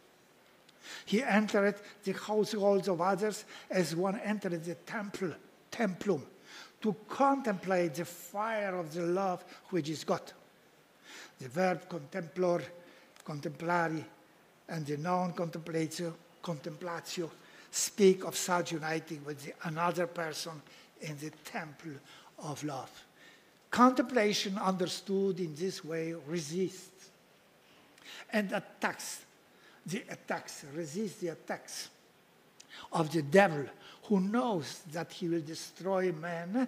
He entered the households of others as one entered the temple, templum, to contemplate the fire of the love which is God. The verb contemplor, contemplari, and the noun contemplatio, contemplatio, speak of such uniting with the another person in the temple of love. Contemplation, understood in this way, resists and attacks the attacks, resists the attacks of the devil, who knows that he will destroy man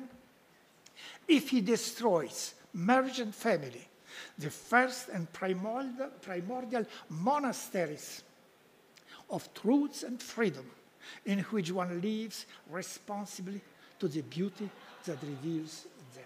if he destroys marriage and family, the first and primordial, primordial monasteries of truth and freedom, in which one lives responsibly to the beauty that reveals them.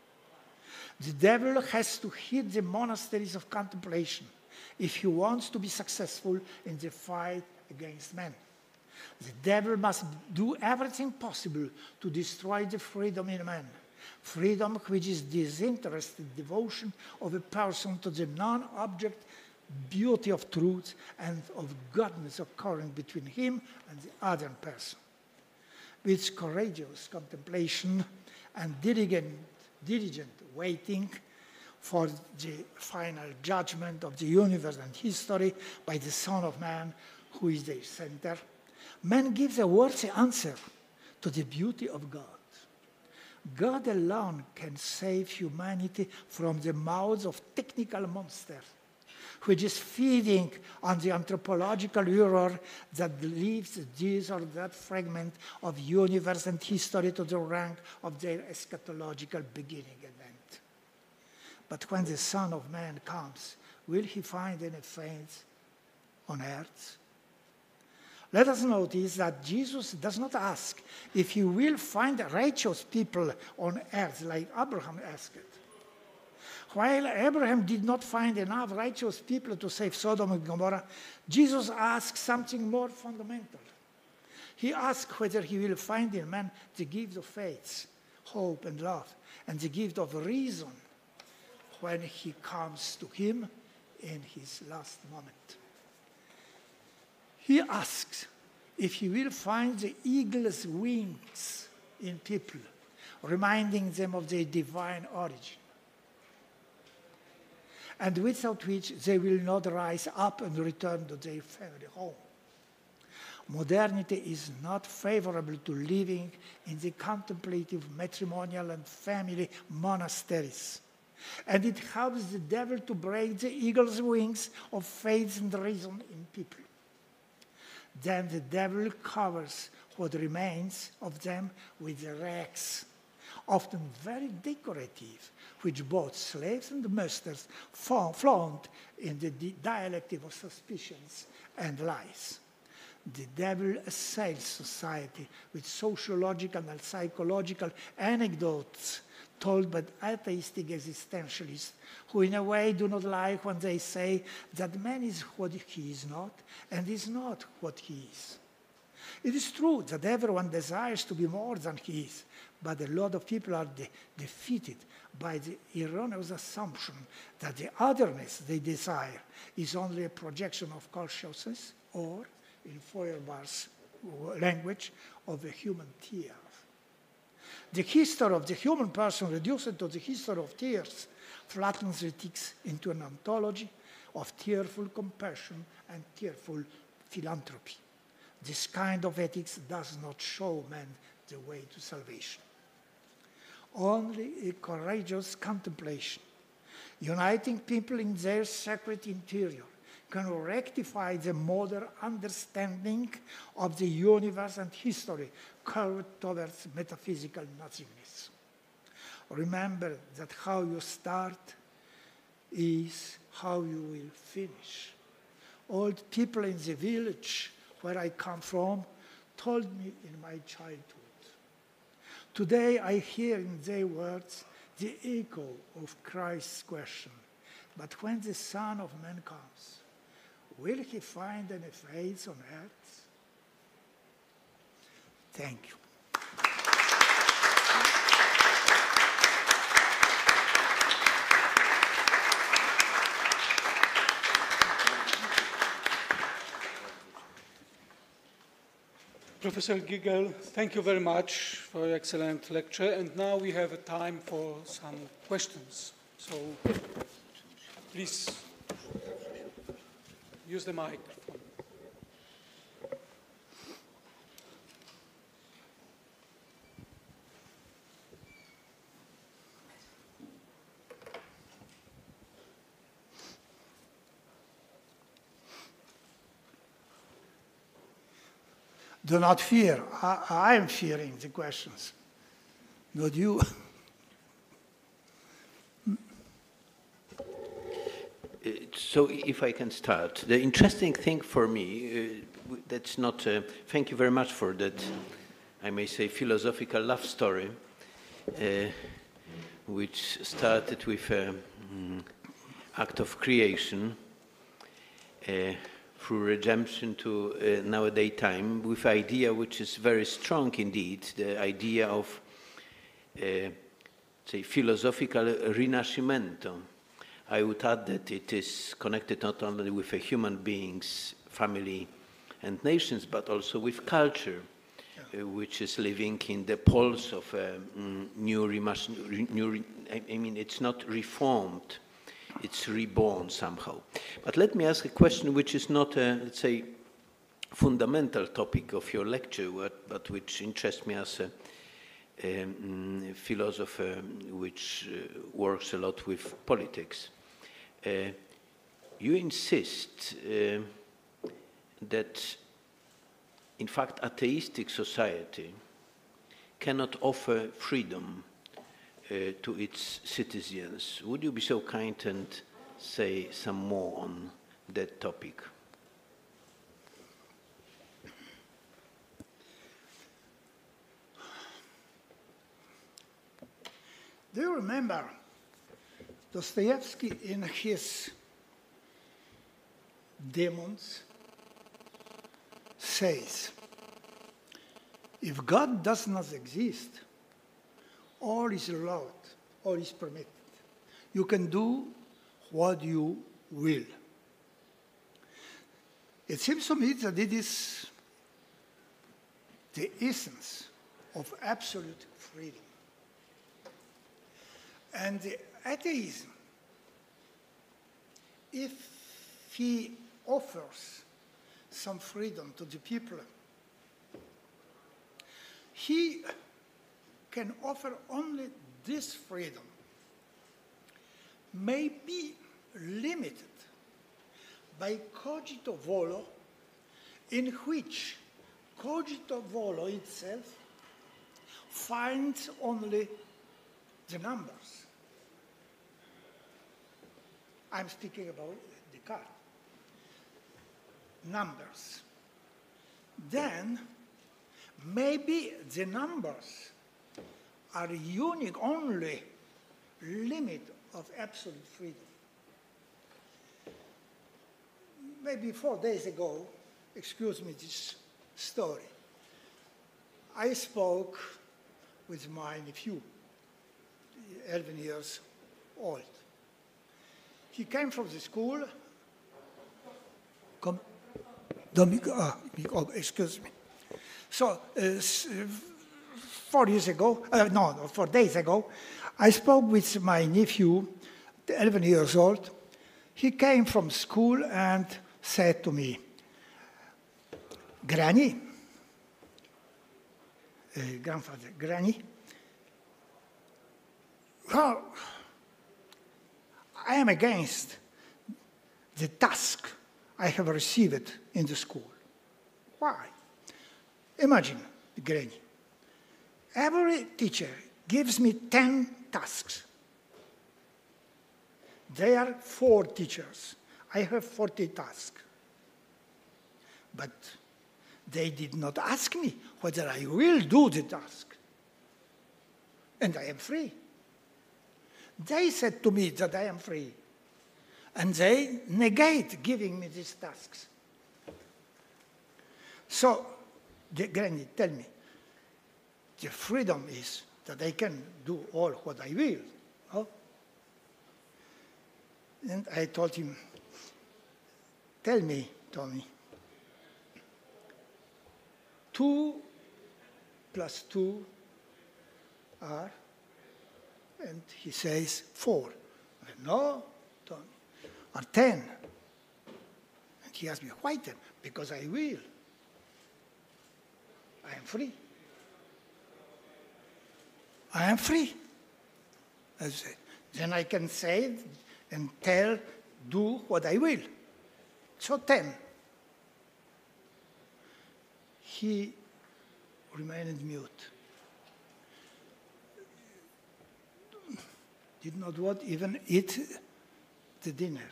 The devil has to hit the monasteries of contemplation if he wants to be successful in the fight against man. The devil must do everything possible to destroy the freedom in man, freedom which is disinterested devotion of a person to the non-object beauty of truth and of godness occurring between him and the other person. With courageous contemplation and diligent, diligent waiting for the final judgment of the universe and history by the Son of Man, who is their center, man gives a worthy answer to the beauty of God. God alone can save humanity from the mouths of technical monsters, which is feeding on the anthropological error that leaves this or that fragment of universe and history to the rank of their eschatological beginning event. But when the Son of Man comes, will he find any faith on earth? Let us notice that Jesus does not ask if he will find righteous people on earth like Abraham asked. While Abraham did not find enough righteous people to save Sodom and Gomorrah, Jesus asks something more fundamental. He asks whether he will find in man the gift of faith, hope, and love, and the gift of reason when he comes to him in his last moment. He asks if he will find the eagle's wings in people, reminding them of their divine origin, and without which they will not rise up and return to their family home. Modernity is not favorable to living in the contemplative matrimonial and family monasteries, and it helps the devil to break the eagle's wings of faith and reason in people. Then the devil covers what remains of them with rags, often very decorative, which both slaves and masters flaunt in the dialectic of suspicions and lies. The devil assails society with sociological and psychological anecdotes told by atheistic existentialists who in a way do not like when they say that man is what he is not and is not what he is. It is true that everyone desires to be more than he is, but a lot of people are de- defeated by the erroneous assumption that the otherness they desire is only a projection of consciousness or, in Feuerbach's language, of a human tear. The history of the human person reduced to the history of tears flattens ethics into an ontology of tearful compassion and tearful philanthropy. This kind of ethics does not show man the way to salvation. Only a courageous contemplation, uniting people in their sacred interior, can rectify the modern understanding of the universe and history curved towards metaphysical nothingness. Remember that how you start is how you will finish. Old people in the village where I come from told me in my childhood. Today I hear in their words the echo of Christ's question, but when the Son of Man comes, will he find any faith on earth? Thank you. Professor Giegel, thank you very much for your excellent lecture. And now we have a time for some questions. So please use the microphone. Do not fear. I, I am fearing the questions, not you. So if I can start, the interesting thing for me, uh, that's not, uh, thank you very much for that, I may say, philosophical love story, uh, which started with an um, act of creation, uh, through redemption to uh, nowadays time, with idea which is very strong indeed, the idea of, uh, say, philosophical rinascimento. I would add that it is connected not only with a human beings, family, and nations, but also with culture, yeah. uh, which is living in the pulse of a um, new, new, I mean, it's not reformed, it's reborn somehow. But let me ask a question which is not a, let's say, fundamental topic of your lecture, but, but which interests me as a, a um, philosopher which uh, works a lot with politics. Uh, you insist uh, that, in fact, atheistic society cannot offer freedom uh, to its citizens. Would you be so kind and say some more on that topic? Do you remember Dostoevsky in his Demons says, if God does not exist, all is allowed, all is permitted. You can do what you will. It seems to me that it is the essence of absolute freedom. And the atheism, if he offers some freedom to the people, he can offer only this freedom, may be limited by cogito volo, in which cogito volo itself finds only the numbers. I'm speaking about Descartes. Numbers. Then, maybe the numbers are unique only limit of absolute freedom. Maybe four days ago, excuse me this story, I spoke with my nephew, eleven years old. He came from the school. Come. Don't be, uh, oh, excuse me. So, uh, four years ago, uh, no, no, four days ago, I spoke with my nephew, eleven years old. He came from school and said to me, Granny, uh, grandfather, Granny, well, I am against the task I have received in the school. Why? Imagine, Granny, every teacher gives me ten tasks. There are four teachers. I have forty tasks. But they did not ask me whether I will do the task. And I am free. They said to me that I am free. And they negate giving me these tasks. So, the Granny, tell me, the freedom is that I can do all what I will. Oh? And I told him, tell me, Tommy, two plus two are, and he says four. I said, no, Tommy, are ten. And he asked me, why ten? Because I will. I am free. I am free. I said, then I can say and tell, do what I will. So ten. He remained mute. Did not want even eat the dinner.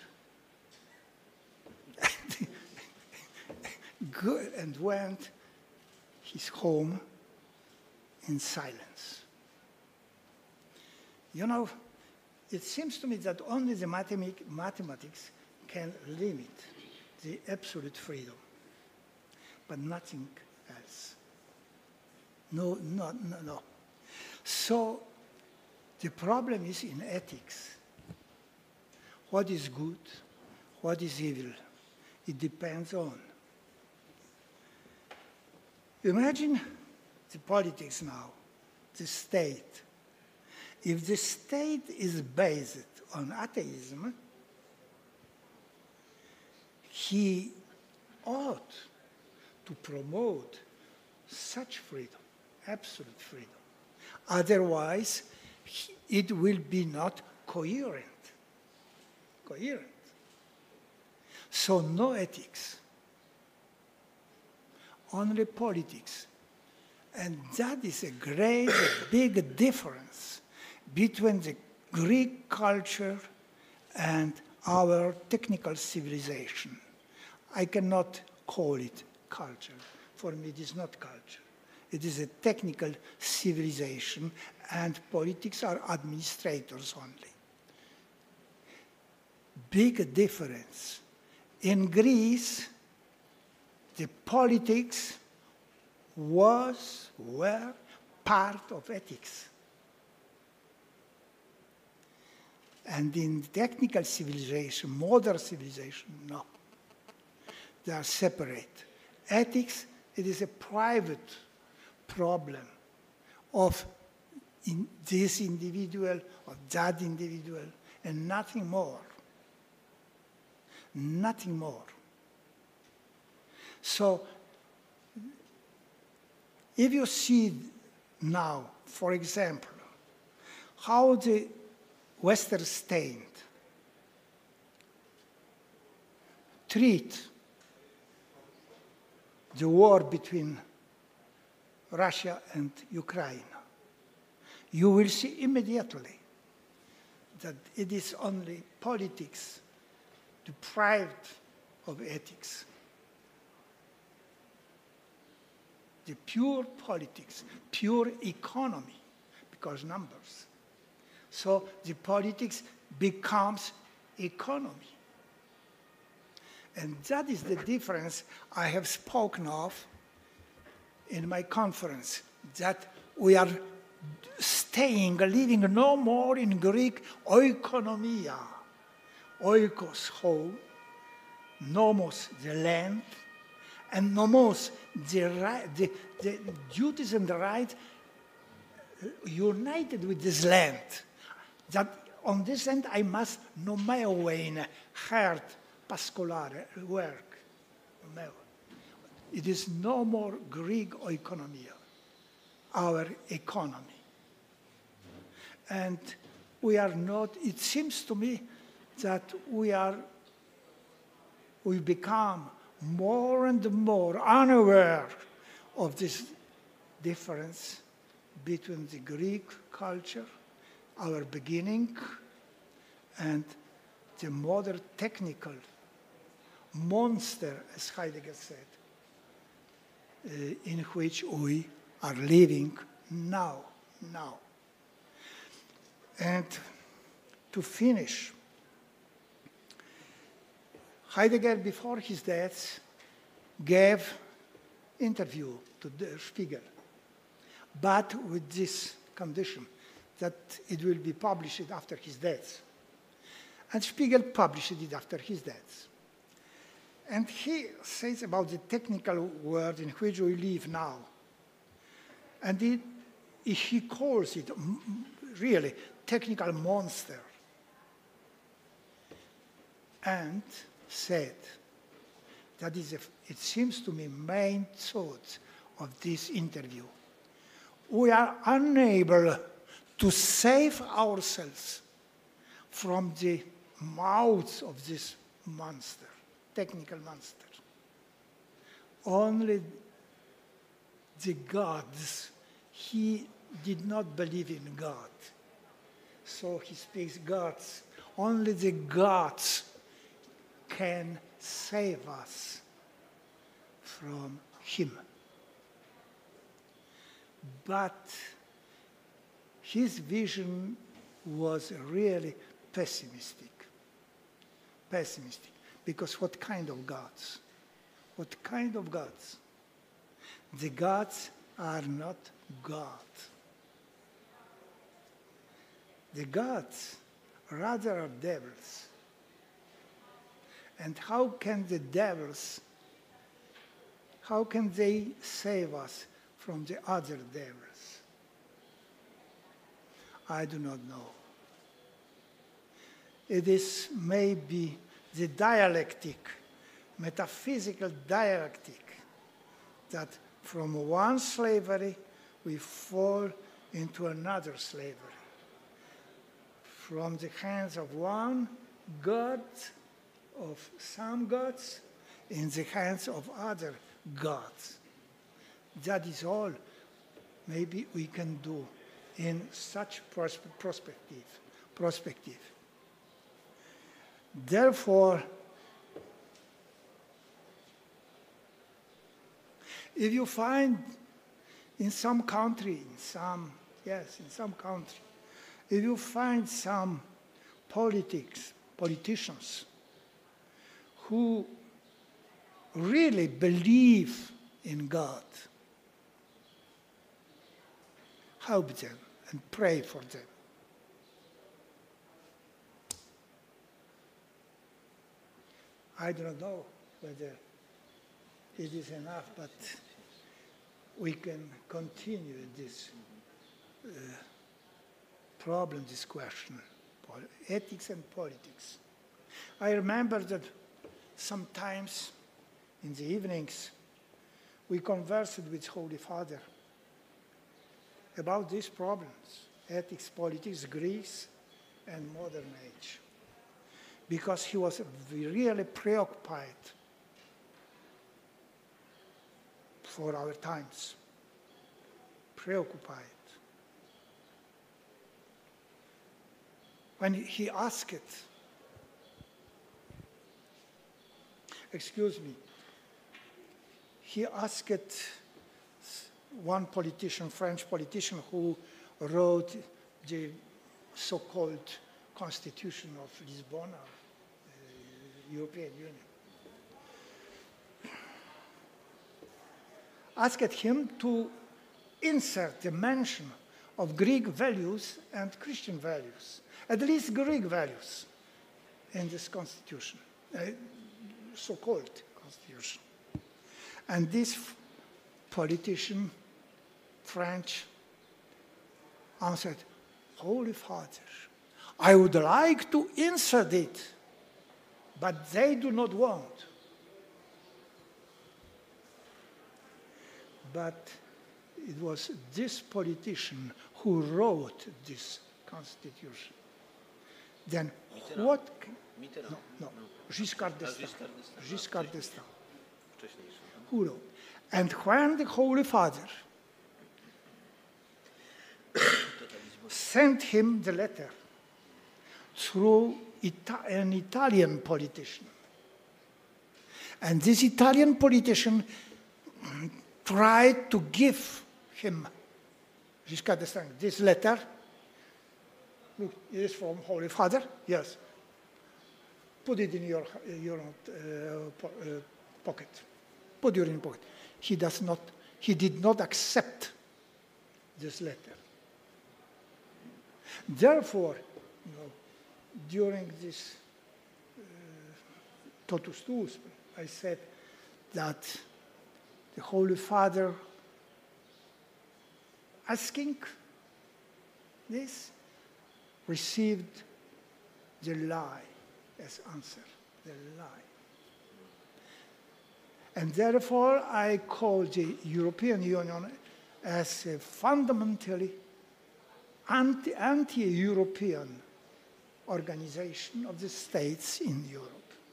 Good, and went his home in silence. You know, it seems to me that only the mathematics can limit the absolute freedom, but nothing else. No, no, no, no. So the problem is in ethics. What is good? What is evil? It depends on. Imagine the politics now, the state. If the state is based on atheism, he ought to promote such freedom, absolute freedom. Otherwise, it will be not coherent. Coherent. So no ethics, only politics. And that is a great, big difference between the Greek culture and our technical civilization. I cannot call it culture. For me, it is not culture. It is a technical civilization, and politics are administrators only. Big difference. In Greece, the politics was, were part of ethics. And in technical civilization, modern civilization, no. They are separate. Ethics, it is a private problem of in this individual, of that individual, and nothing more. Nothing more. So, if you see now, for example, how the Western state treat the war between Russia and Ukraine, you will see immediately that it is only politics deprived of ethics. The pure politics, pure economy, because numbers. So the politics becomes economy. And that is the difference I have spoken of in my conference, that we are staying, living no more in Greek oikonomia. Oikos, home, nomos, the land, and nomos, the, right, the, the duties and the rights united with this land. That on this land I must nomeowein, herd, pascolare, work. It is no more Greek oikonomia, our economy. And we are not, it seems to me that we are, we become more and more unaware of this difference between the Greek culture, our beginning, and the modern technical monster, as Heidegger said, uh, in which we are living now, now. And to finish, Heidegger, before his death, gave interview to Der Spiegel, but with this condition, that it will be published after his death. And Spiegel published it after his death. And he says about the technical world in which we live now. And it, he calls it really technical monster. And said, that is, a, it seems to me, main thought of this interview. We are unable to save ourselves from the mouth of this monster, technical monster. Only the gods, he did not believe in God. So he speaks gods. Only the gods can save us from him. But his vision was really pessimistic. Pessimistic. Because what kind of gods? What kind of gods? The gods are not God. The gods rather are devils. And how can the devils, how can they save us from the other devils? I do not know. It is maybe the dialectic, metaphysical dialectic, that from one slavery we fall into another slavery. From the hands of one God, of some gods, in the hands of other gods. That is all maybe we can do in such pros perspective, perspective. Therefore, if you find in some country, in some, yes, in some country, if you find some politics, politicians who really believe in God, help them and pray for them. I don't know whether it is enough, but we can continue this uh, problem, this question, ethics and politics. I remember that sometimes in the evenings we conversed with Holy Father about these problems, ethics, politics, Greece, and modern age, because he was really preoccupied for our times, preoccupied. When he asked, excuse me, he asked one politician, French politician, who wrote the so-called Constitution of Lisbon, uh, European Union, asked him to insert the mention of Greek values and Christian values, at least Greek values, in this constitution, uh, so-called constitution. And this politician, French, answered, Holy Father, I would like to insert it, but they do not want. But it was this politician who wrote this constitution. Then Mitterrand. what... Mitterrand. No, no, Giscard d'Estaing. Giscard d'Estaing. Wcześniejszy. Who wrote? And when the Holy Father sent him the letter through Ita an Italian politician, and this Italian politician tried to give him, Giscard d'Estaing, this letter. Look, it is from Holy Father. Yes. Put it in your, your uh, po uh, pocket. Put it in your pocket. He does not, he did not accept this letter. Therefore, you know, during this uh, totus tuus, I said that the Holy Father asking this received the lie as answer, the lie. And therefore, I call the European Union as a fundamentally anti, anti-European organization of the states in Europe.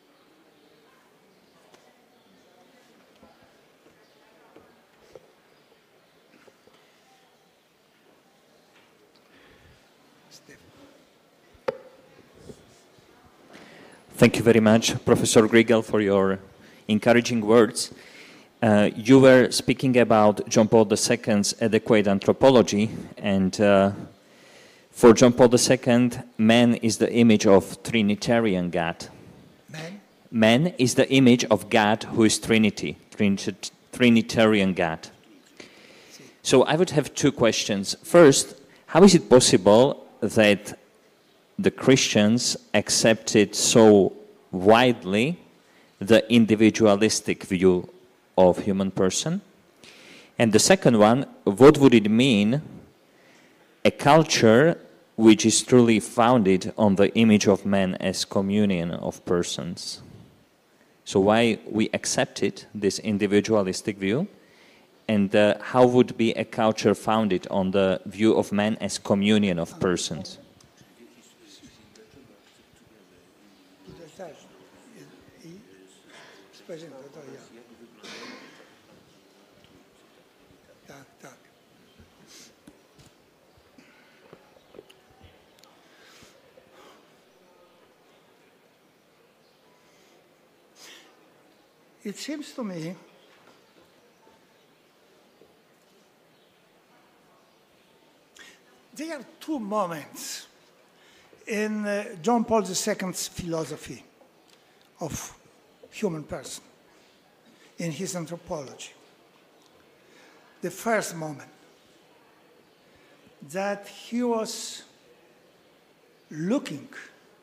Thank you very much, Professor Grigel, for your encouraging words. Uh, you were speaking about John Paul the Second's adequate anthropology, and uh, for John Paul the Second, man is the image of Trinitarian God. Man? Man is the image of God who is Trinity, Trinit Trinitarian God. So I would have two questions. First, how is it possible that the Christians accepted so widely the individualistic view of human person? And the second one, what would it mean, a culture which is truly founded on the image of man as communion of persons? So why we accepted this individualistic view, and uh, how would be a culture founded on the view of man as communion of persons? it seems to me there are two moments in uh, John Paul the Second's philosophy of human person, in his anthropology. The first moment, that he was looking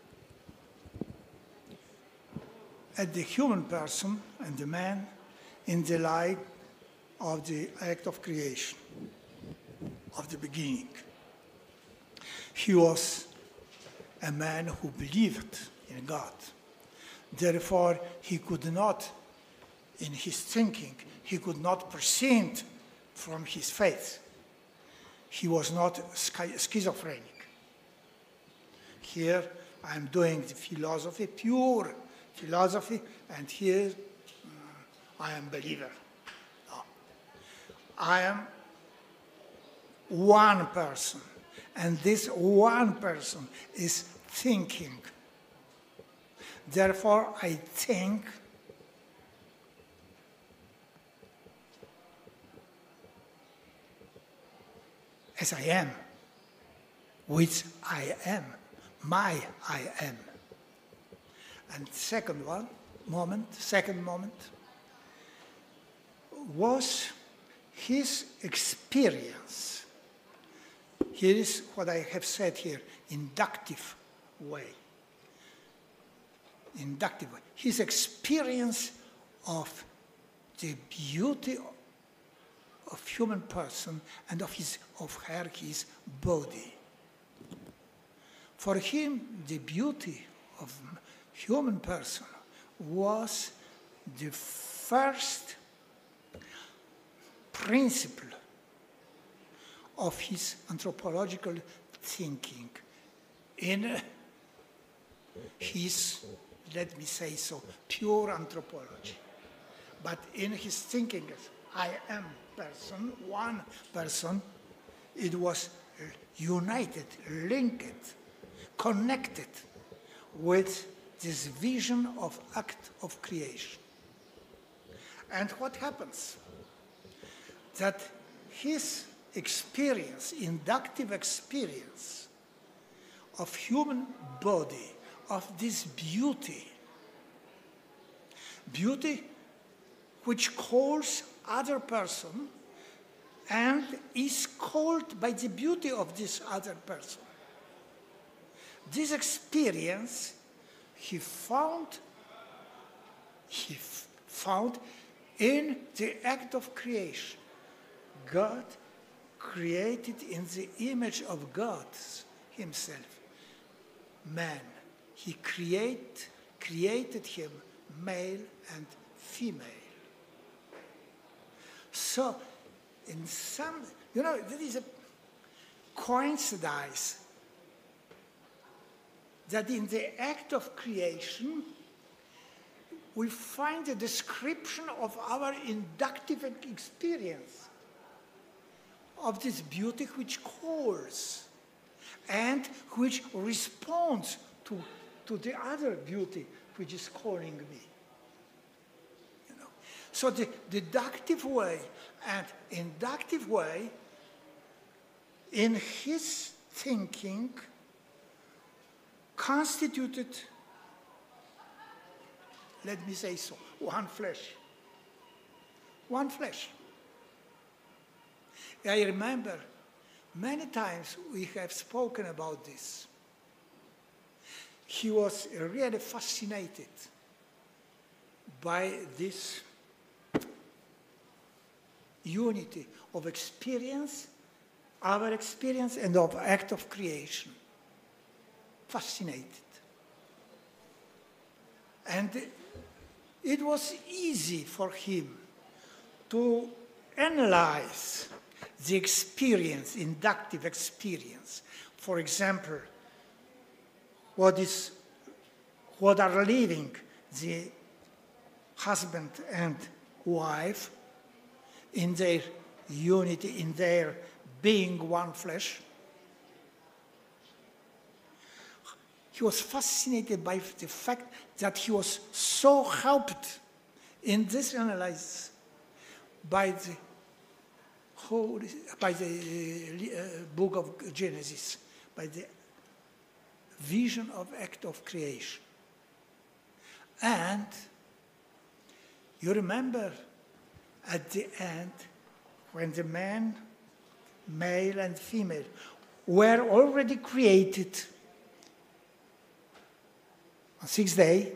at the human person and the man in the light of the act of creation, of the beginning. He was a man who believed in God. Therefore, he could not, in his thinking, he could not proceed from his faith. He was not schizophrenic. Here, I'm doing the philosophy, pure philosophy, and here uh, I am believer. No. I am one person, and this one person is thinking. Therefore, I think as I am, which I am, my I am. And second one, moment, second moment, was his experience. Here is what I have said here, inductive way. Inductive way. His experience of the beauty of human person and of his, of her, his body. For him, the beauty of human person was the first principle of his anthropological thinking in his, let me say so, pure anthropology. But in his thinking as I am person, one person, it was united, linked, connected with this vision of act of creation. And what happens? That his experience, inductive experience of human body, of this beauty, beauty which calls other person and is called by the beauty of this other person. This experience he found, he f- found in the act of creation. God created in the image of God himself, man. He create, created him male and female. So, in some, you know, there is a coincidence that in the act of creation, we find a description of our inductive experience of this beauty which calls and which responds to, to the other beauty which is calling me. You know? So the deductive way and inductive way in his thinking constituted, let me say so, one flesh. One flesh. I remember many times we have spoken about this. He was really fascinated by this unity of experience, our experience, and of act of creation. Fascinated. And it was easy for him to analyze the experience, inductive experience. For example, what is, what are living the husband and wife in their unity, in their being one flesh. He was fascinated by the fact that he was so helped In this analysis, by the whole, by the uh, book of Genesis, by the vision of act of creation. And you remember at the end, when the man, male and female, were already created on sixth day,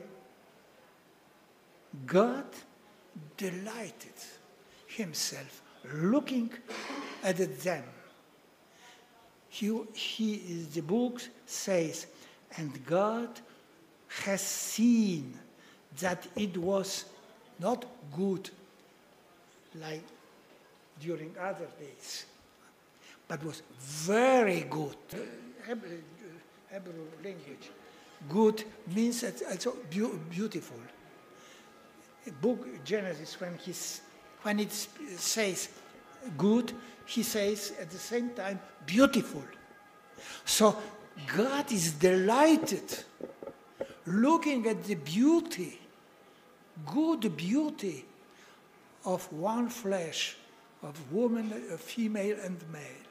God delighted himself looking at them. He, he, the book says, and God has seen that it was not good like during other days, but was very good. Hebrew, Hebrew language. Good means also beautiful. Book Genesis, when, he's, when it says good, he says at the same time beautiful. So God is delighted looking at the beauty, good beauty of one flesh, of woman, of female and male.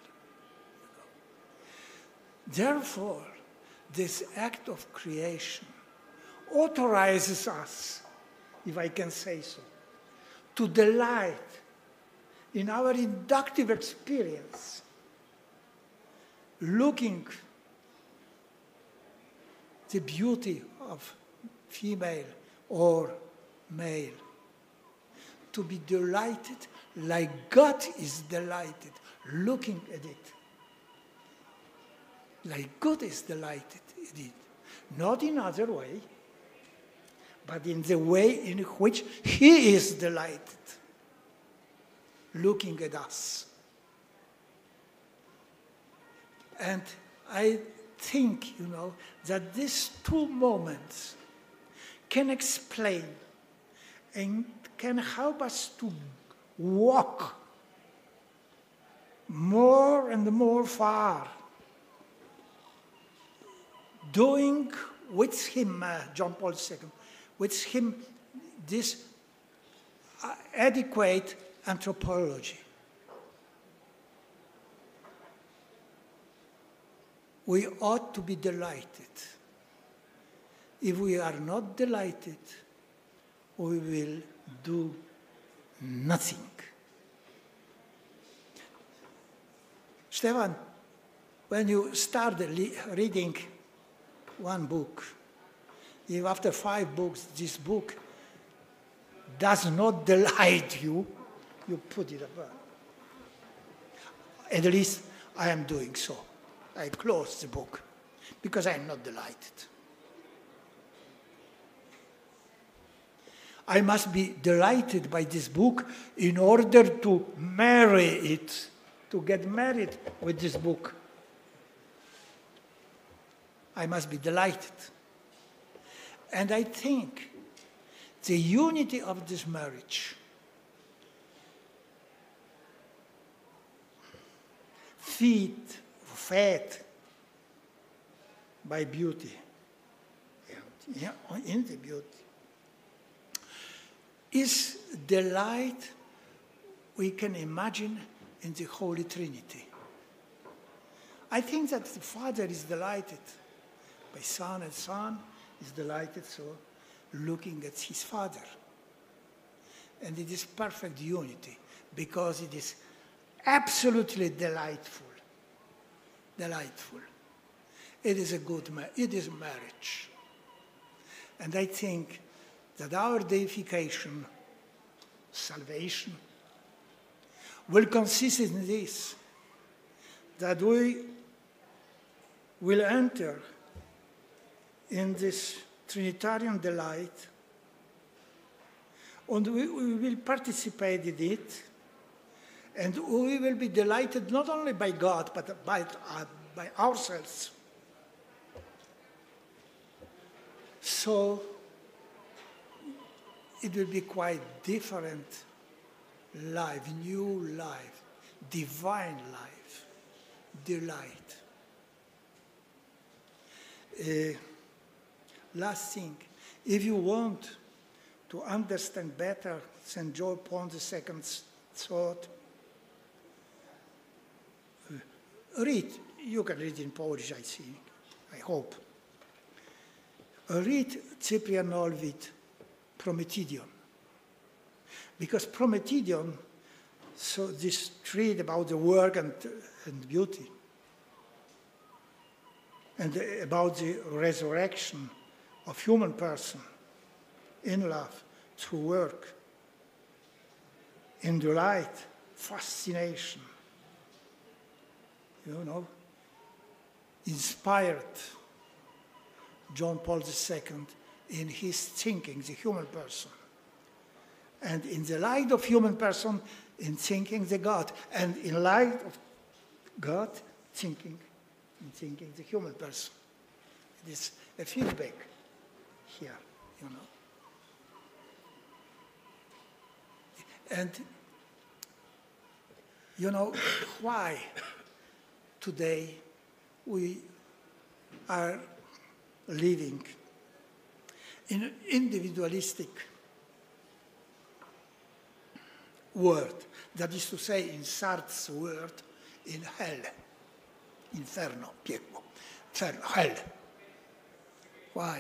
Therefore, this act of creation authorizes us, if I can say so, to delight in our inductive experience, looking the beauty of female or male, to be delighted like God is delighted looking at it, like God is delighted in it, not in other way, but in the way in which he is delighted looking at us. And I think, you know, that these two moments can explain and can help us to walk more and more far, doing with him, uh, John Paul the Second, with him this uh, adequate anthropology. We ought to be delighted. If we are not delighted, we will do nothing. Stefan, when you start reading one book, if after five books this book does not delight you, you put it apart. At least I am doing so. I close the book because I am not delighted. I must be delighted by this book in order to marry it, to get married with this book. I must be delighted. And I think the unity of this marriage feed, fed by beauty, yeah, in the beauty, is delight we can imagine in the Holy Trinity. I think that the Father is delighted by Son, and Son is delighted so looking at his Father. And it is perfect unity because it is absolutely delightful. Delightful. It is a good marriage. It is marriage. And I think that our deification, salvation, will consist in this, that we will enter in this Trinitarian delight, and we, we will participate in it, and we will be delighted not only by God, but by, uh, by ourselves. So it will be quite different life, new life, divine life, delight. Uh, last thing, if you want to understand better Saint John Paul the Second's thought, read, you can read in Polish, I think, I hope. Read Cyprian Olvid, Prometidion. Because Prometidion, so this treat about the work and, and beauty, and about the resurrection of human person in love, through work, in delight, fascination, you know, inspired John Paul the Second in his thinking, the human person. And in the light of human person, in thinking the God. And in light of God, thinking, in thinking the human person. It is a feedback here, you know. And, you know, why today we are living in an individualistic world, that is to say, in Sartre's word, in hell, inferno, piekło, inferno, hell. Why?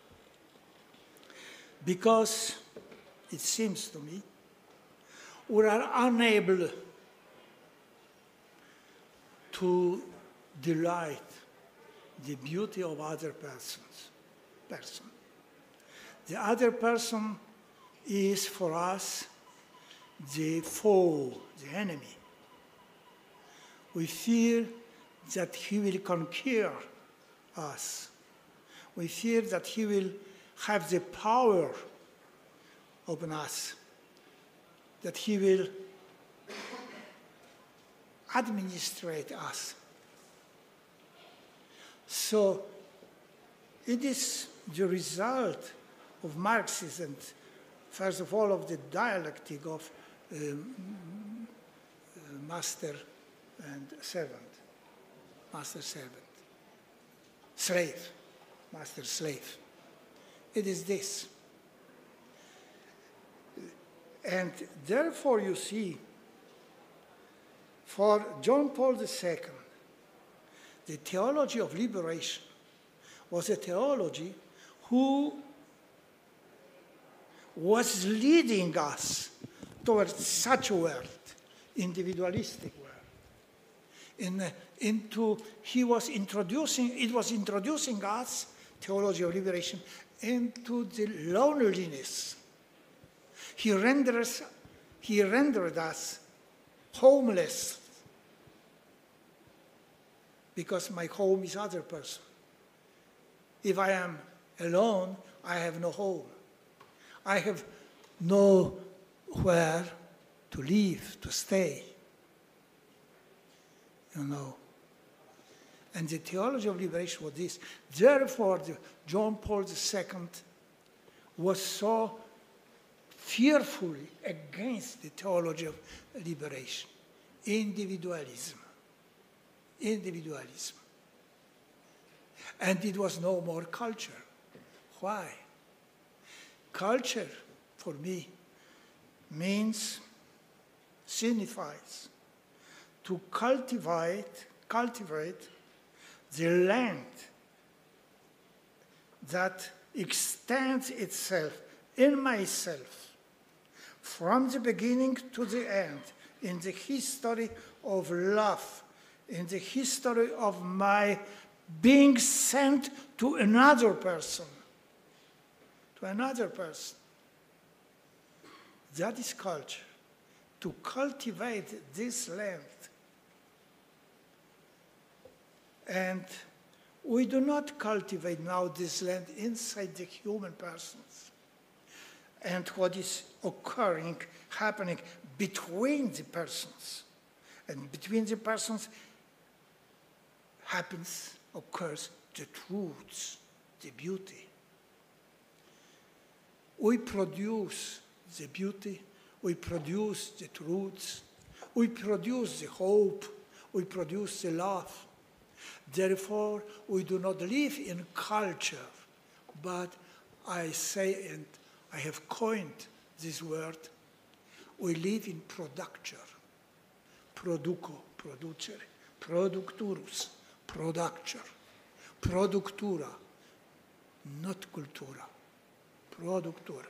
Because it seems to me we are unable to delight the beauty of other persons. Person. The other person is for us the foe, the enemy. We fear that he will conquer us. We fear that he will have the power over us, that he will administrate us. So it is the result of Marxism, first of all, of the dialectic of um, uh, master and servant, master-servant, slave, master-slave. It is this. And therefore, you see, for John Paul the Second, the theology of liberation was a theology who was leading us towards such a world, individualistic world. In, uh, into, he was introducing, it was introducing us, theology of liberation, into the loneliness. He renders, he rendered us homeless, because my home is other person. If I am alone, I have no home. I have nowhere to live, to stay. You know. And the theology of liberation was this. Therefore, the John Paul the Second was so fearfully against the theology of liberation. Individualism. Individualism. And it was no more culture. Why? Culture, for me, means, signifies to cultivate, cultivate the land that extends itself in myself from the beginning to the end, in the history of love, in the history of my being sent to another person, to another person. That is culture, to cultivate this land. And we do not cultivate now this land inside the human persons. And what is occurring, happening between the persons. And between the persons happens, occurs, the truths, the beauty. We produce the beauty, we produce the truths, we produce the hope, we produce the love. Therefore, we do not live in culture, but I say, and I have coined this word. We live in producture. Produco, producere, producturus, producture, productura, not cultura, productura.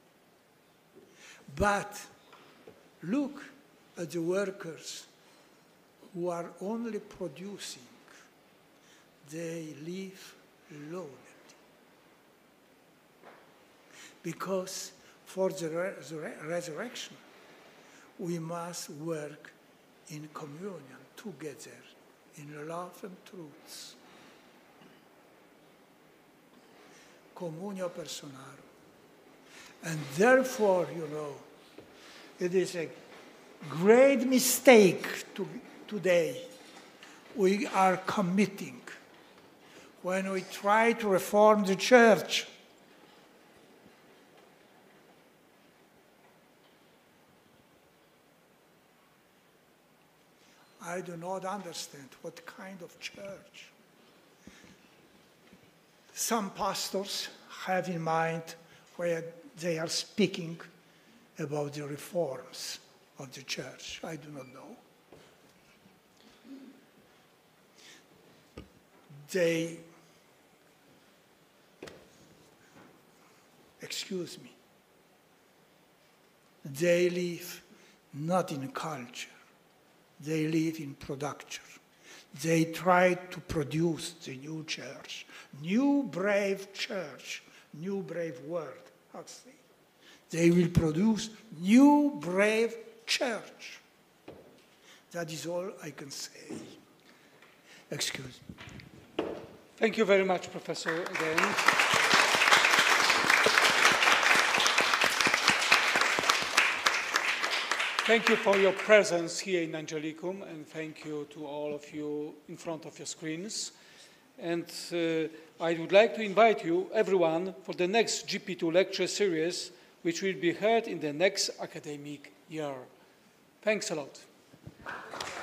But look at the workers who are only producing. They live lonely. Because for the resur- resurrection, we must work in communion together, in love and truth. Communio personarum. And therefore, you know, it is a great mistake to, today we are committing when we try to reform the church. I do not understand what kind of church. Some pastors have in mind where they are speaking about the reforms of the church. I do not know. They, excuse me, they live not in culture. They live in production. They try to produce the new church, new brave church, new brave world. How to say? They will produce new brave church. That is all I can say. Excuse me. Thank you very much, Professor, again. Thank you for your presence here in Angelicum, and thank you to all of you in front of your screens. And uh, I would like to invite you, everyone, for the next G P two lecture series, which will be held in the next academic year. Thanks a lot.